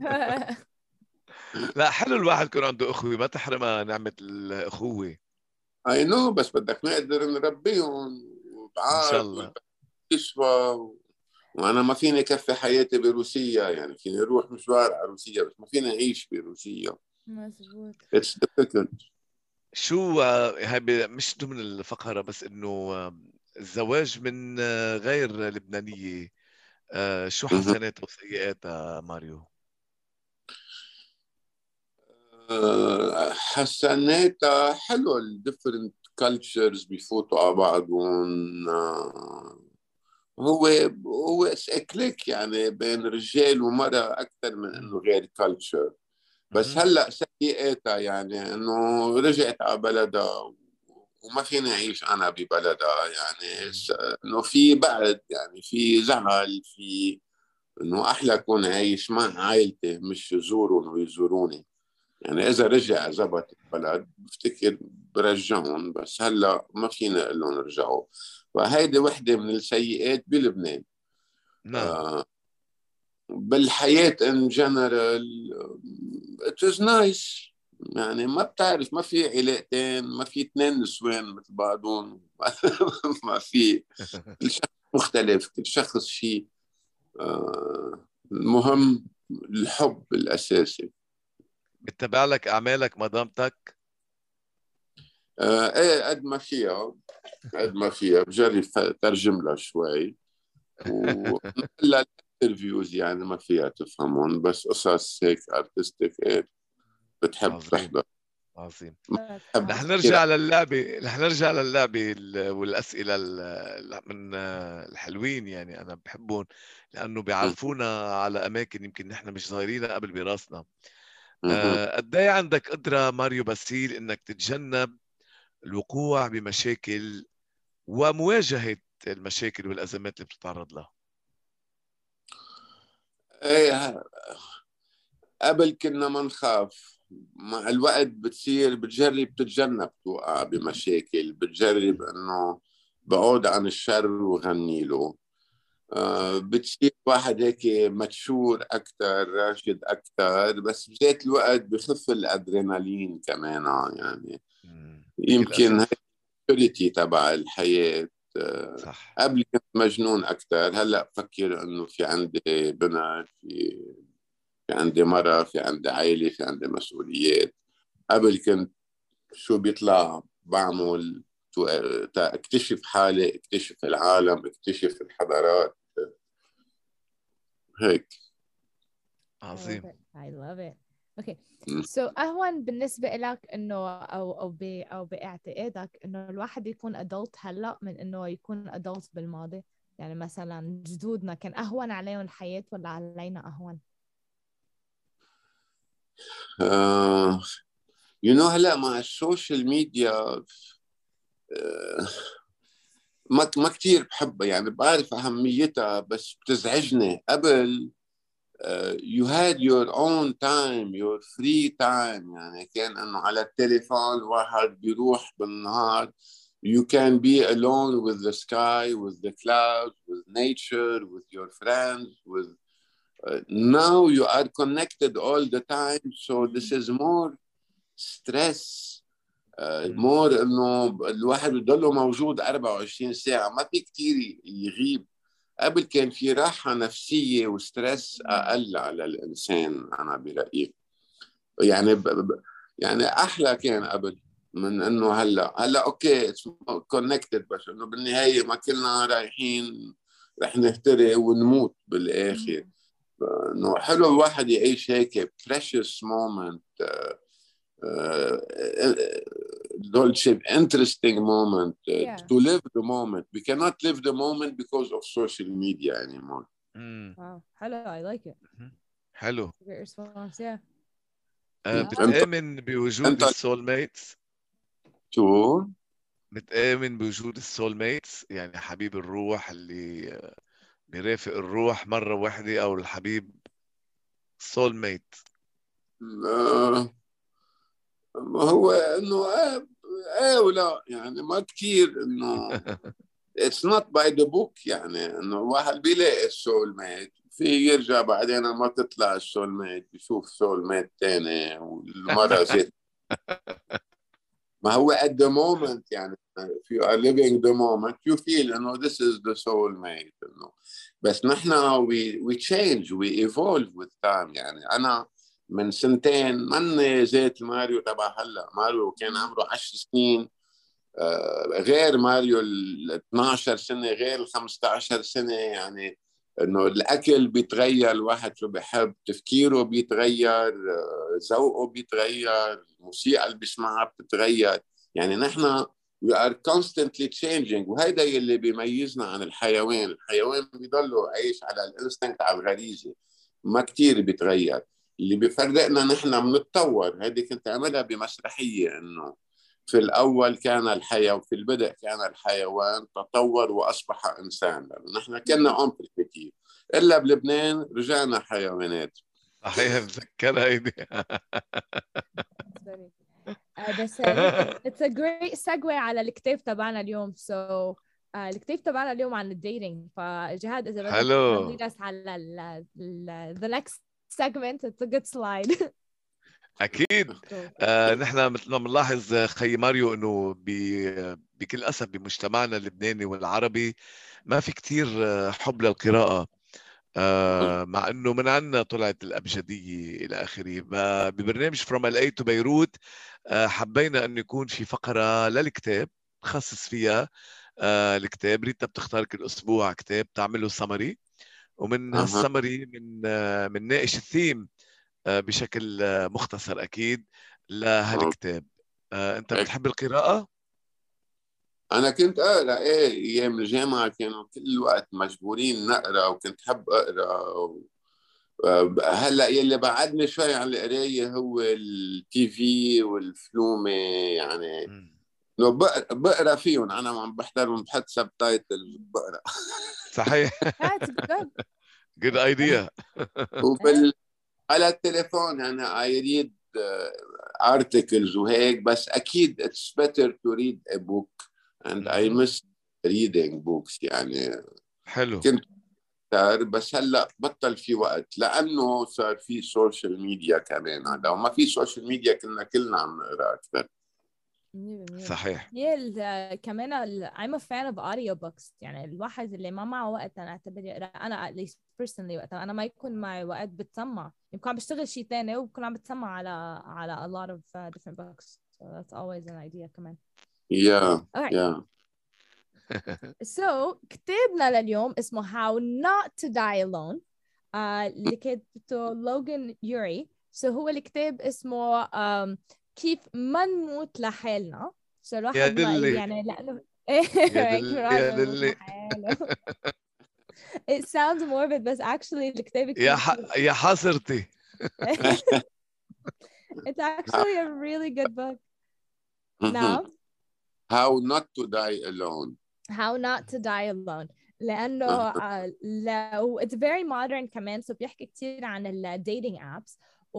لا حلو الواحد يكون عنده أخوة، ما تحرمها نعمة الأخوة.
اي نو بس بدك نقدر نربيهم
إن شاء
وبعاد
الله.
ويشفى. وانا ما فيني كفي حياتي بروسيا، يعني فيني اروح مشوار على روسيا بس ما فيني اعيش بروسيا.
مزبوط.
It's difficult.
شو هاي مش ضمن الفقرة، بس إنه الزواج من غير لبنانية شو حسناتها وسيئاتها ماريو؟
حسناتها حلو، ال different cultures بيفوتوا على بعضهم. هو هو كليك يعني بين رجال ومرأة أكثر من إنه غير كلتشر. بس هلا سيئاتها يعني إنه رجعت على بلدها وما فيني أعيش أنا ببلدها، يعني إنه في بعد، يعني في زعل، في إنه أحلى أكون عايش مع عائلتي مش يزورون ويزوروني. يعني إذا رجع زبط البلد بفتكر برجعهم، بس هلا ما فينا نقول لهم رجعوا. فهيدي وحدة من السيئات بلبنان.
نعم.
آه بالحياة in general it is nice. يعني ما بتعرف، ما في علاقتين، ما في اثنين نسوان مثل بعضهم. ما في، كل شخص مختلف، كل شخص شيء. آه المهم الحب الأساسي.
بتتابع لك أعمالك مدامتك؟
آه ايه قد ما فيها، قد ما فيها بجرب ترجم لها شوي. ولا الانترفيوز يعني ما فيها تفهمون، بس قصص هيك ارتستيك ايه بتحب
عظيم
تحضر.
عظيم.
بحب
رح
كثير.
نرجع للعبة رح نرجع للعبة ال- والأسئلة ال- من الحلوين، يعني أنا بحبهم لأنه بيعرفونا على أماكن يمكن نحن مش ظاهرينها قبل براسنا.
مهم.
آه، قد إيه عندك قدرة ماريو باسيل إنك تتجنب الوقوع بمشاكل ومواجهة المشاكل والأزمات اللي بتتعرض لها؟
ايه، قبل كنا ما نخاف، مع الوقت بتصير بتجرب تتجنب توقع بمشاكل، بتجرب انه بعود عن الشر وغني له. آه بتصير واحد هيك متشور اكثر، راشد اكثر، بس بذات الوقت بخف الادرينالين كمان يعني.
مم. بكل
يمكن هي
أسف.
البيوريتي تبع الحياة. آه
صح.
قبل كنت مجنون اكثر، هلا بفكر انه في عندي بنت، في في عندي مرة، في عندي عائلة، في عندي مسؤوليات. قبل كنت شو بيطلع بعمل، تو- تا اكتشف حالي، اكتشف العالم، اكتشف الحضارات هيك.
I love
عظيم.
it. I love it. Okay.
م.
So أهون بالنسبة لك إنه أو أو ب أو باعتقادك إنه الواحد يكون adult هلا من إنه يكون adult بالماضي؟ يعني مثلا جدودنا كان أهون عليهم الحياة ولا علينا أهون؟
آه يو نو هلا مع السوشيال ميديا، آه ما ما كثير بحبها، يعني بعرف أهميتها بس بتزعجني. قبل uh, you had your own time, your free time، يعني كان انه على التليفون واحد بيروح بالنهار you can be alone with the sky, with the clouds, with nature, with your friends, with uh, now you are connected all the time, so this is more stress, uh, more انه الواحد بيضله موجود أربعة وعشرين ساعة، ما في كتير يغيب. قبل كان في راحة نفسية وستريس أقل على الإنسان، أنا برأيي. يعني ب... ب... يعني أحلى كان قبل من إنه هلا. هلا أوكي كونكتد، بس إنه بالنهاية ما كلنا رايحين رح نهتري ونموت بالآخر. إنه حلو الواحد يعيش هيك precious moment، dolce interesting moment,
Yeah.
to live the moment. We cannot live the moment because of social media anymore.
مم.
Wow. Hello. I like it.
حلو.
Great response. Yeah.
آه،
انت
بتآمن بوجود
انت
السول ميتس؟
شو؟
بتآمن بوجود السول ميتس، يعني حبيب الروح اللي آه، بيرافق الروح مرة واحدة، أو الحبيب سول ميت؟
آه هو انه ايه ايه ولا يعني ما كثير انه it's not by the book، يعني انه الواحد بيلاقي السول ميت، في يرجع بعدين ما تطلع السول ميت بيشوف سول ميت ثاني والمرة زيت. ما هو at the moment، يعني if you are living the moment you feel انه this is the soul mate انه. بس نحن we we change we evolve with time. يعني انا من سنتين من زيت ماريو تبع هلا. ماريو كان عمره عشر سنين غير ماريو ال اثناشر سنة، غير ال خمسة عشر سنة. يعني انه الاكل بيتغير، الواحد شو بيحب، تفكيره بيتغير، ذوقه بيتغير، الموسيقى اللي بيسمعها بتتغير. يعني نحن we are constantly changing، وهيدا اللي بيميزنا عن الحيوان. الحيوان بيضلوا عايش على الانستنكت، على الغريزة، ما كتير بيتغير. اللي بيفرقنا نحن بنتطور. هيدي كنت عملها بمسرحية، انه في الأول كان الحيوان، في البدء كان الحيوان، تطور وأصبح إنسان. نحن كنا أمبريكتيف، إلا بلبنان رجعنا حيوانات.
صحيح، بتذكرها هيدي.
Uh, بس هيك it's a great segue على الكتاب تبعنا اليوم. so uh, الكتاب تبعنا اليوم عن الديتينج. فجهاد إذا بدك
حلو.
تحضري us على ال, ال, the next segment. it's a good slide.
أكيد. آه، نحن مثل ما بنلاحظ خي ماريو إنه بي- بكل أسف بمجتمعنا اللبناني والعربي ما في كتير آه، حب للقراءة. آه، مع إنه من عنا طلعت الأبجدية إلى آخره. ب- ببرنامج From إل إيه to بيروت آه، حبينا أن يكون في فقرة للكتاب نخصص فيها آه، الكتاب. ريتا بتختار كل أسبوع كتاب تعمله سمري، ومن
أها.
هالسمري من آه، من ناقش الثيم بشكل مختصر أكيد. لهالكتاب. آه، أنت بتحب القراءة؟
أنا كنت أقرأ إيه أيام الجامعة، كانوا كل الوقت مجبورين نقرأ، وكنت حب أقرأ و... هلا يلي بعدني شوي عن القراية هو التي في والفلومة يعني.
مم.
لو بقرا بقرا فيهم، انا عم بحضرهم بحط سب تايتل بقرا.
صحيح.
That's good.
good idea.
وبال على التليفون يعني I read uh, articles وهيك، بس اكيد it's better to read a book and I
مهم.
miss reading books يعني.
حلو.
كنت أكتر، بس هلا بطل في وقت لانه صار في سوشيال ميديا كمان. لو ما في سوشيال ميديا كنا كلنا عم نقرا اكثر.
مية بالمية.
صحيح.
هي ال- كمان ال- I'm a fan of audiobooks. يعني الواحد اللي ما معه وقت أنا أعتبر يقرأ، أنا at least personally وقت أنا ما يكون معي وقت بتسمع، يمكن عم بشتغل شيء ثاني وبكون عم بتسمع على على a lot of uh, different books. So that's always an idea كمان.
يا
Alright.
يا
So كتابنا لليوم اسمه How Not to Die Alone. uh, اللي كتبته لوغان يوري. So هو الكتاب اسمه um, كيف ما نموت لحالنا. So
يا
الواحد ما
دلي
يعني لأنه
يا
كيف
دلي
الواحد
يا
ما يموت
دلي
لحاله. It sounds morbid بس actually الكتاب
يا
كتير
ح...
cute.
يا حسرتي.
It's actually a really good book. Now
How not to die alone.
How Not to Die Alone. لأنه uh, لو it's very modern كمان. so بيحكي كتير عن ال dating apps.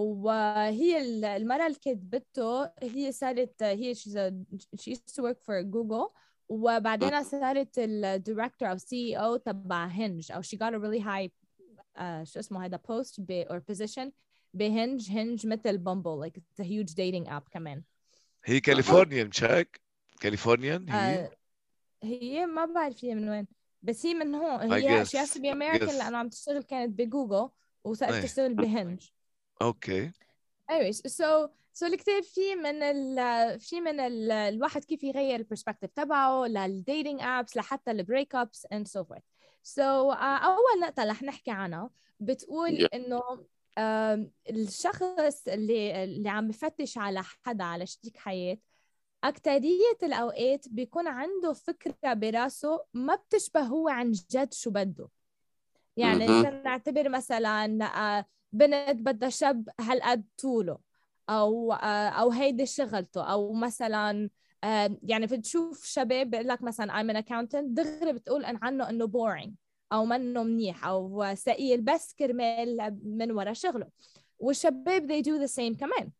وهي المرة اللي كتبته هي صارت هي she's a, she used to work for Google. وبعدين صارت ال director أو سي إي أو تبع هنج. أو she got a really high uh, شو اسمه هذا post ب or position بهنج. هنج مثل بامبل like it's a huge dating app كمان.
هي كاليفورنيا مشاك كاليفورنيان هي.
uh, هي ما بعرف هي من وين، بس هي من هون.
I
هي she has
guess
to be American
guess
لأنه عم تشتغل كانت بجوجل وصارت
ايه
تشتغل بهنج.
اوكي.
anyways so so الكتاب فيه من ال في من ال الواحد كيف يغير البرسبكتيف تبعه للديتينج ابس لحتى البريك ابس and so forth. so uh, أول نقطة رح نحكي عنها بتقول
Yeah.
إنه uh, الشخص اللي اللي عم بفتش على حدا على شريك حياة أكترية الأوقات بيكون عنده فكرة براسه ما بتشبه هو عن جد شو بده. يعني
Mhm.
نعتبر مثلا بنت بدها شاب هالقد طوله، أو أو هيدي شغلته، أو مثلا يعني بتشوف شباب بيقول لك مثلا I'm an accountant دغري بتقول عنه إنه boring أو منه منيح أو ثقيل بس كرمال من ورا شغله. والشباب they do the same كمان.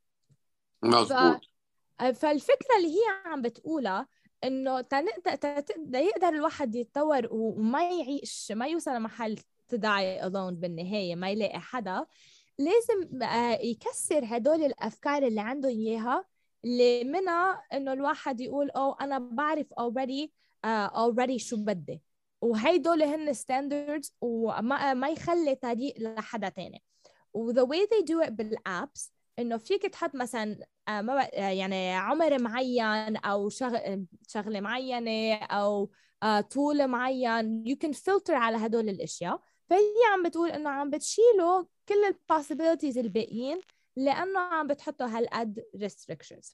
مظبوط.
فالفكرة اللي هي عم بتقولها إنه يقدر الواحد يتطور وما يعيش ما يوصل لمحل to die alone بالنهاية ما يلاقي حدا، لازم يكسر هدول الأفكار اللي عنده إياها اللي منها إنه الواحد يقول أو أنا بعرف already uh, already شو بدي، وهيدول هن standards وما ما يخلي طريق لحدا تاني. و the way they do it بالapps إنه فيك تحط مثلا ما يعني عمر معين أو شغل شغلة معينة أو طول معين you can filter على هدول الأشياء. فهي عم بتقول إنه عم بتشيلوا كل ال possibilities الباقيين لأنه عم بتحطوا هالقد restrictions.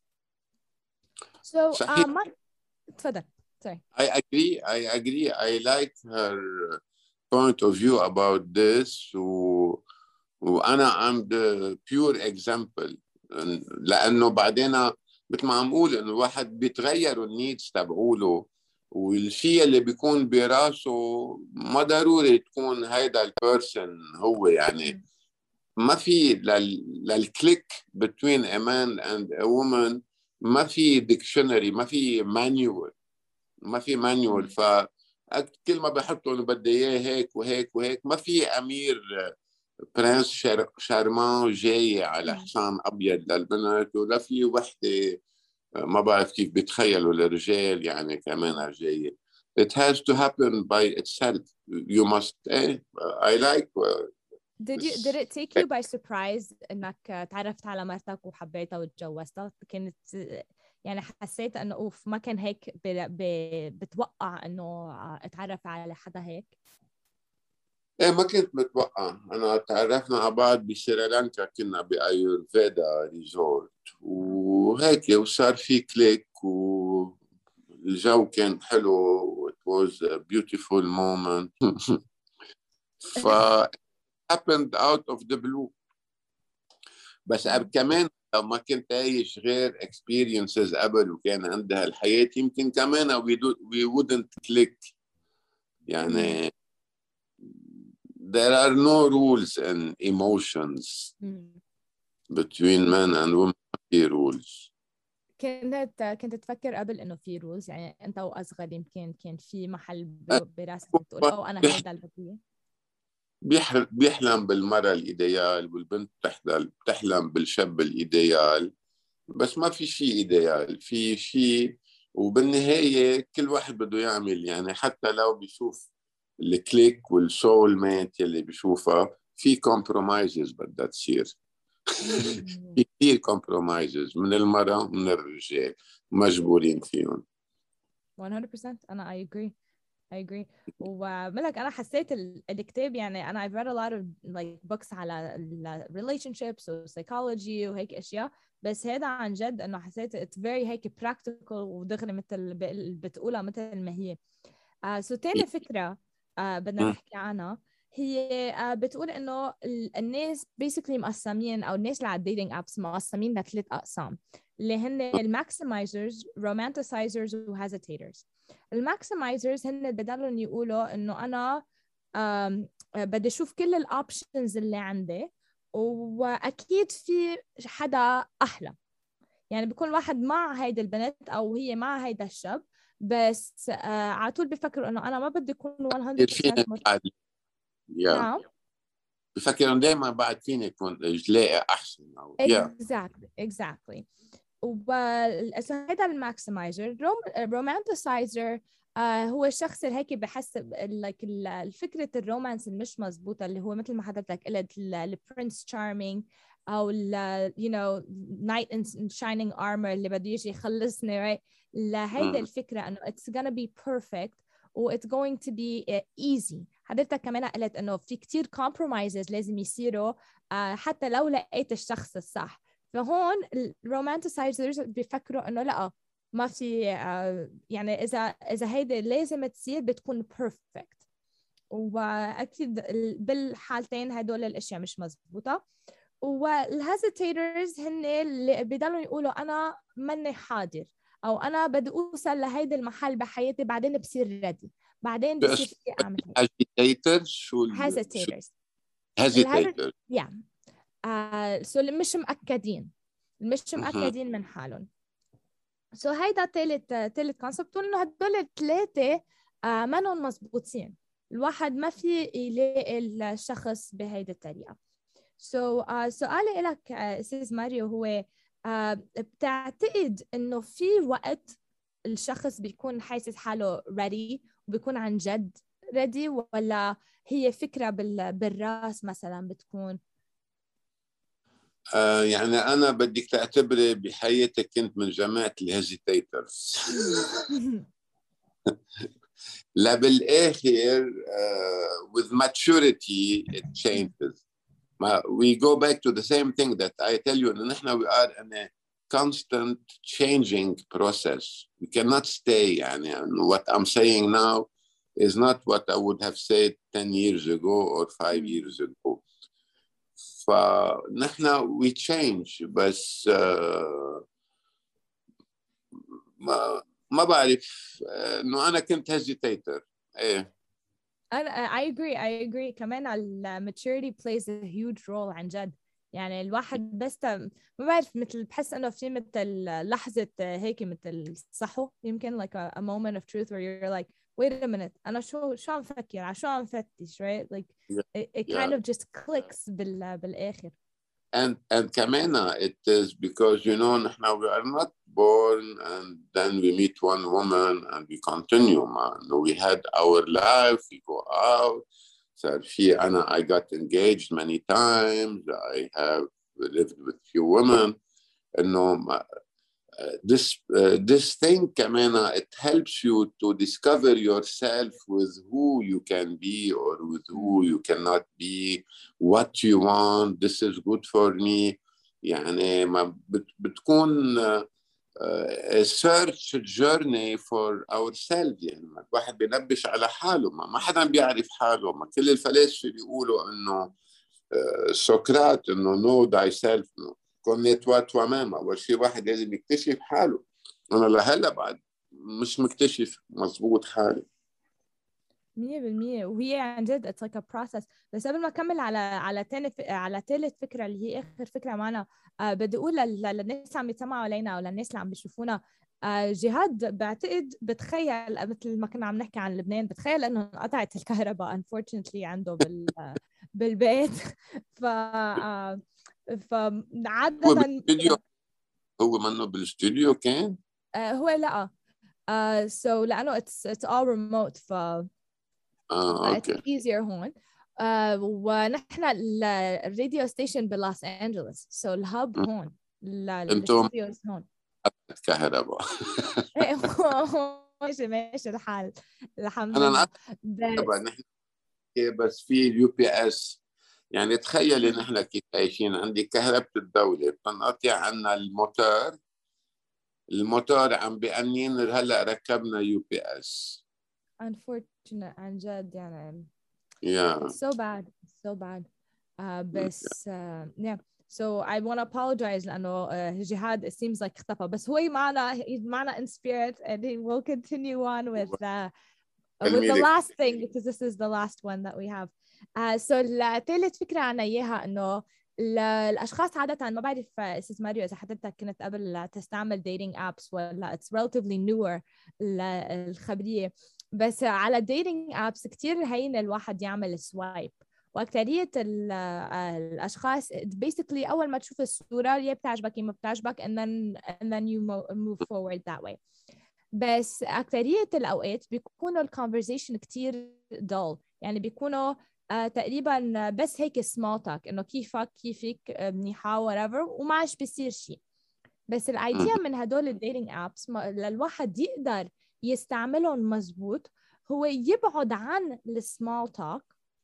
so
صحيح.
uh, ما تفضل. sorry.
I agree. I agree. I like her point of view about this. و... وأنا I'm the pure example. لأنه بعدين مثل ما عم أقول إنه الواحد بيتغيروا النيدز تبعوله، والشيء اللي بيكون براسه ما ضروري تكون هيدا البيرسون هو. يعني ما في لل... للكليك between a man and a woman ما في dictionary، ما في manual، ما في manual. ف كل ما بحطوا انه بدي اياه هيك وهيك وهيك. ما في امير برنس شار... شارمان جاي على حصان ابيض للبنت، ولا في وحده ما بعرف كيف بيتخيلوا الرجال يعني كمان جايه. It has to happen by itself. You must eh? I like
Did you did it take you by surprise إنك تعرفت على مرتك وحبيتها وتجوزتها؟ كانت يعني حسيت إنه أوف ما كان هيك ب... ب... بتوقع إنه أتعرف على حدا هيك؟
ايه ما كنت متوقع. انا تعرفنا على بعض بسريلانكا، كنا بايورفيدا ريزورت وهيك، وصار في كليك والجو كان حلو. it was a beautiful moment. ف happened out of the blue. بس كمان لو ما كنت عايش غير experiences قبل وكان عندها الحياة، يمكن كمان we, do, we wouldn't click. يعني there are no rules and emotions between men and women. في rules.
كنت كنت تفكر قبل انه في رولز؟ يعني انت واصغر يمكن كان في محل براسك بتقول او انا هيدا اللي بدي
بيحلم بالمرأة الإيديال والبنت بتحلم بتحلم بالشاب الإيديال، بس ما في شيء إيديال، في شيء. وبالنهاية كل واحد بده يعمل، يعني حتى لو بيشوف الكليك والسول ميت يلي بيشوفها، في كومبرومايزز بدها تصير. في كثير كومبرومايزز من المرأة ومن الرجال مجبورين فيهم.
مية بالمية أنا I agree I agree. وملك أنا حسيت الكتاب، يعني أنا I've read a lot of like books على relationships و psychology وهيك أشياء، بس هذا عن جد إنه حسيت it's very هيك practical ودغري مثل بتقولها مثل ما هي. uh, so تاني فكرة uh, بدنا نحكي عنها هي uh, بتقول إنه الناس basically مقسمين، أو الناس اللي على الديتينج أبس مقسمين لثلاث أقسام اللي هن الماكسمايزرز، رومانتسايزرز، وهيزيتيترز. الماكسمايزرز هن بدلهم يقولوا إنه أنا بدي أشوف كل الأوبشنز اللي عندي، وأكيد في حدا أحلى. يعني بيكون واحد مع هيدا البنت أو هي مع هيدا الشاب، بس آه على طول بيفكروا إنه أنا ما بدي أكون مية بالمية مرتاح.
نعم. بفكروا دائما بعد فيني يكون لاقي أحسن أو
exactly exactly. وهذا الماكسمايزر. الرومانتسايزر آه هو الشخص اللي هيك بحس like الفكرة الرومانس المش مزبوطة، اللي هو مثل ما حضرتك قلت البرنس تشارمينج أو ال you know knight in shining armor اللي بده يجي يخلصني right. لهيدا الفكرة إنه it's gonna be perfect و it's going to be easy. حضرتك كمان قلت إنه في كتير compromises لازم يصيروا آه حتى لو لقيت الشخص الصح. فهون الرومانتسايزرز بيفكروا إنه لا ما في آه يعني إذا إذا هيدا لازم تصير بتكون perfect، وأكيد بالحالتين هدول الأشياء مش مزبوطة. والهيزيتيترز هن اللي بيضلوا يقولوا أنا ماني حاضر، أو أنا بدي أوصل لهيدا المحل بحياتي بعدين بصير ريدي، بعدين بصير في أعمل هيك.
هيزيتيترز شو
هيزيتيترز
هيزيتيترز
يعني آه سو اللي مش مأكدين مش مأكدين من حالهم. سو so هيدا تالت تالت كونسبت، انه هدول الثلاثه آه منهم مزبوطين. الواحد ما في يلاقي الشخص بهيدي الطريقه. سو so, uh, سؤالي لك استاذ uh, ماريو هو uh, بتعتقد انه في وقت الشخص بيكون حاسس حاله ready وبيكون عن جد ready، ولا هي فكره بال... بالراس مثلا بتكون؟
آه يعني أنا بدك تعتبري بحياتك كنت من جماعة الهيزيتيترز. لا بالآخر uh, with maturity it changes. We go back to the same thing that I tell you, إن إحنا we are in a constant changing process. We cannot stay. يعني what I'm saying now is not what I would have said ten years ago or five years ago. فنحن we change. بس uh, ما ما بعرف انه انا كنت هيزيتيتر. ايه
انا I agree I agree كمان ال maturity plays a huge role عن جد. يعني الواحد بس ما بعرف، مثل بحس انه في مثل لحظة هيك مثل صحو يمكن like a, a moment of truth where you're like wait a minute أنا شو شو عم فكر على شو عم فتش right like
yeah.
it, it kind yeah. of just clicks بال بالآخر.
And and كمان it is because you know نحن we are not born and then we meet one woman and we continue man. We had our life, we go out. So في أنا I got engaged many times. I have lived with few women. إنه this uh, this thing كمان it helps you to discover yourself with who you can be or with who you cannot be, what you want, this is good for me. يعني ما بت, بتكون uh, uh, a search journey for ourselves. يعني الواحد بينبش على حاله، ما, ما حدا بيعرف حاله. ما كل الفلاسفة بيقولوا انه uh, سقراط انه know thyself no. كوني توا توا ماما. أول شيء واحد لازم يكتشف حاله. أنا لهلا بعد مش مكتشف مظبوط حالي.
مية بالمية. وهي عن جد it's like a process. بس قبل ما أكمل على على تاني على ثالث فكرة اللي هي آخر فكرة معنا، آه بدي أقول للناس عم يتسمعوا علينا أو للناس اللي عم بيشوفونا، آه جهاد بعتقد بتخيل مثل ما كنا عم نحكي عن لبنان، بتخيل إنه انقطعت الكهرباء unfortunately عنده بال بالبيت. ف آه فعادة
هو بالاستوديو، هو منه بالاستوديو كان؟
آه هو لا آه so لأنه it's it's all remote ف
اه
اوكي it's easier هون. آه ونحن الراديو ستيشن بلوس أنجلوس so الهب هون الاستوديوز هون
كهرباء.
ايه ماشي ماشي الحال الحمد
أنا
لله.
بس نحن بس في اليو بي اس. يعني تخيلي نحن كيف عايشين. عندي كهرباء الدولة بتنقطع عنا الموتور الموتور عم بأنين هلا ركبنا يو بي اس.
unfortunate عن جد يعني
yeah
it's so bad it's so bad uh, بس uh, yeah so I want to apologize لأنه uh, جهاد it seems like اختفى، بس هو معنا he's معنا in spirit and he will continue on with the uh, with the last thing because this is the last one that we have. uh, so الثالث فكرة عنا إياها إنه الأشخاص عادة ما بعرف أستاذ ماريو إذا حضرتك كنت قبل تستعمل dating apps ولا it's relatively newer الخبرية، بس على dating apps كتير هين الواحد يعمل سوايب. وأكترية الأشخاص basically أول ما تشوف الصورة يا بتعجبك يا ما بتعجبك and then, and then you move forward that way. بس أكترية الأوقات بيكونوا الconversation كتير dull، يعني بيكونوا آه تقريبا بس هيك small talk إنه كيفك كيفك منيحة whatever وما عادش بيصير شيء. بس الأيديا من هدول الديتينج أبس للواحد يقدر يستعملهم مزبوط هو يبعد عن السمول توك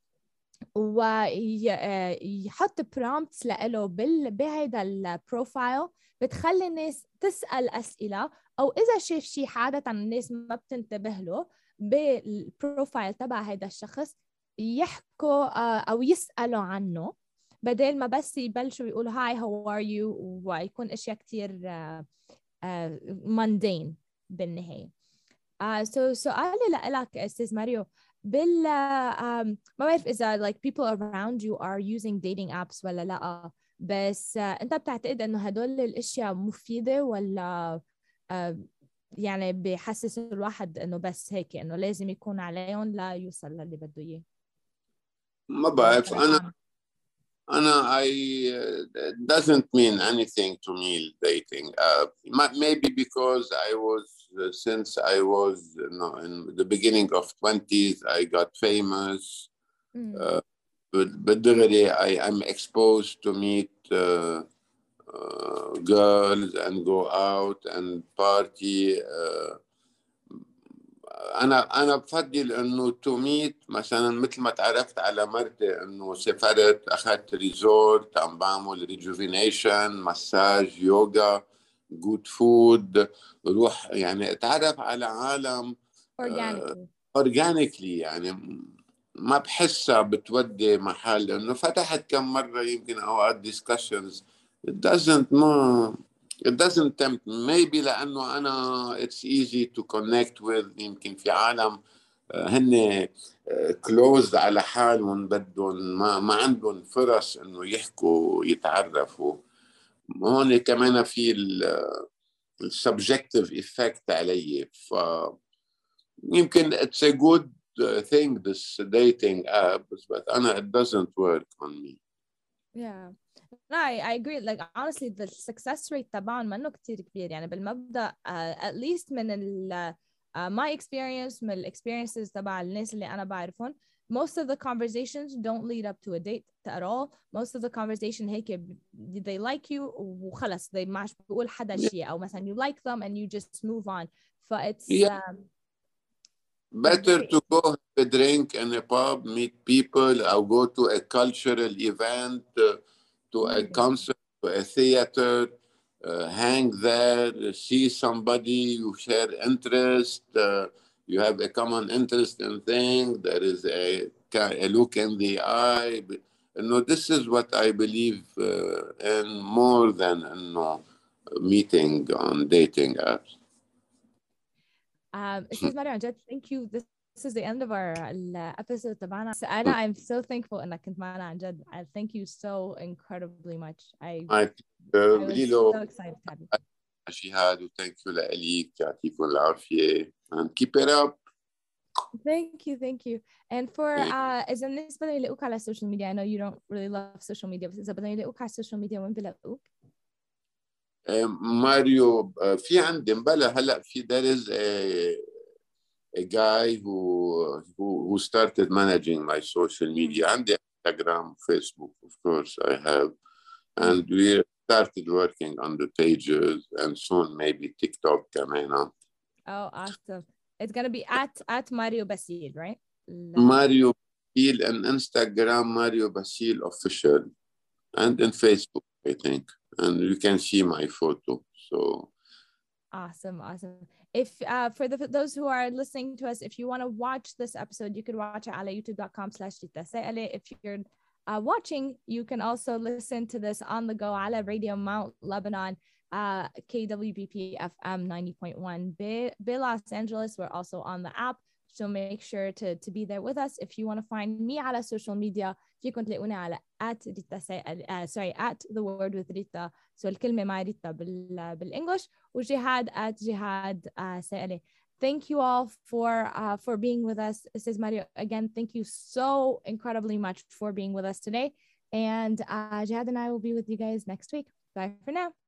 ويحط prompts لإله بهذا البروفايل بتخلي الناس تسأل أسئلة، أو إذا شاف شيء عادة الناس ما بتنتبه له بالبروفايل تبع هذا الشخص يحكوا أو يسألوا عنه بدل ما بس يبلشوا يقولوا هاي هاو ار يو ويكون أشياء كتير mundane بالنهاية. uh, so سؤالي لك أستاذ ماريو بال um, ما بعرف إذا like people around you are using dating apps ولا لا، بس uh, أنت بتعتقد إنه هدول الأشياء مفيدة ولا uh, يعني بيحسس الواحد إنه بس هيك إنه لازم يكون عليهم لا يوصل للي بده إياه؟
ما بعرف. أنا أنا I uh, doesn't mean anything to me dating app. Maybe because I was uh, since I was you know, in the beginning of twenties I got famous. Mm. Uh, but بالدغري I am exposed to meet uh, uh, girls and go out and party. Uh, أنا أنا بفضل إنه تو ميت مثلاً مثل ما تعرفت على مرتي إنه سافرت أخذت ريزورت عم بعمل ريجوفينيشن مساج يوغا جود فود روح يعني أتعرف على عالم أورجانيكلي uh, يعني ما بحسها بتودي محل. إنه فتحت كم مرة يمكن أوقات ديسكشنز it doesn't ما It doesn't tempt me. Maybe لأنه أنا it's easy to connect with. يمكن في عالم هن closed على حالهم بدهم ما ما عندهم فرص إنه يحكوا يتعرفوا. هون كمان في ال subjective effect علي. ف يمكن it's a good thing this dating app but أنا it doesn't work on me.
Yeah. No, I, I agree. Like honestly, the success rate تبعهم منه كتير كبير. يعني بالمبدأ uh, at least من ال uh, my experience من ال experiences تبع الناس اللي أنا بعرفهم most of the conversations don't lead up to a date at all. Most of the conversation هيك they like you وخلص they ماش بقول حدا شيء أو مثلا you like them and you just move on. So it's
yeah.
um,
better to go have a drink in a pub, meet people, or go to a cultural event, uh, to a concert, to a theater, uh, hang there, see somebody, you share interest, uh, you have a common interest in things, there is a, a look in the eye. You know, this is what I believe uh, in more than you know, meeting on dating apps.
Um, Ustaz Mario, thank you. This, this is the end of our uh, episode تبعنا. So أنا I'm so thankful إنك كنت معنا عن جد. I thank you so incredibly much. I,
I, uh,
I was so excited to have you.
شهاد وثانك يو لك يعطيكم العافية and keep it up.
Thank you, thank you. And for uh, إذا بالنسبة ليلاقوك على السوشيال ميديا, I know you don't really love social media, بس إذا بدهم يلاقوك على السوشيال ميديا وين بيلاقوك؟
ماريو في عندي مبلا هلا في there is a, a guy who, who who started managing my social media. عندي Instagram, Facebook, of course I have, and we started working on the pages and soon maybe TikTok كمان.
Oh, awesome. It's gonna be at at Mario Basil, right?
Mario Basil and Instagram, Mario Basil official, and in Facebook, I think. And you can see my photo. So
awesome, awesome. If uh, for the for those who are listening to us, if you want to watch this episode, you can watch it at youtube dot com slash Rita Saile. If you're uh, watching, you can also listen to this on the go على Radio Mount Lebanon, uh, K W B P F M ninety point one. Bay, Bay Los Angeles, we're also on the app. So make sure to, to be there with us. If you want to find me على social media, فيكم تلاقوني على at Rita Saile, uh, sorry, at the word with Rita. So الكلمة مع ريتا بال بالإنجلش وجهاد at جهاد uh, Saile. Thank you all for uh, for being with us. Ustaz Mario, again, thank you so incredibly much for being with us today. And uh, Jihad and I will be with you guys next week. Bye for now.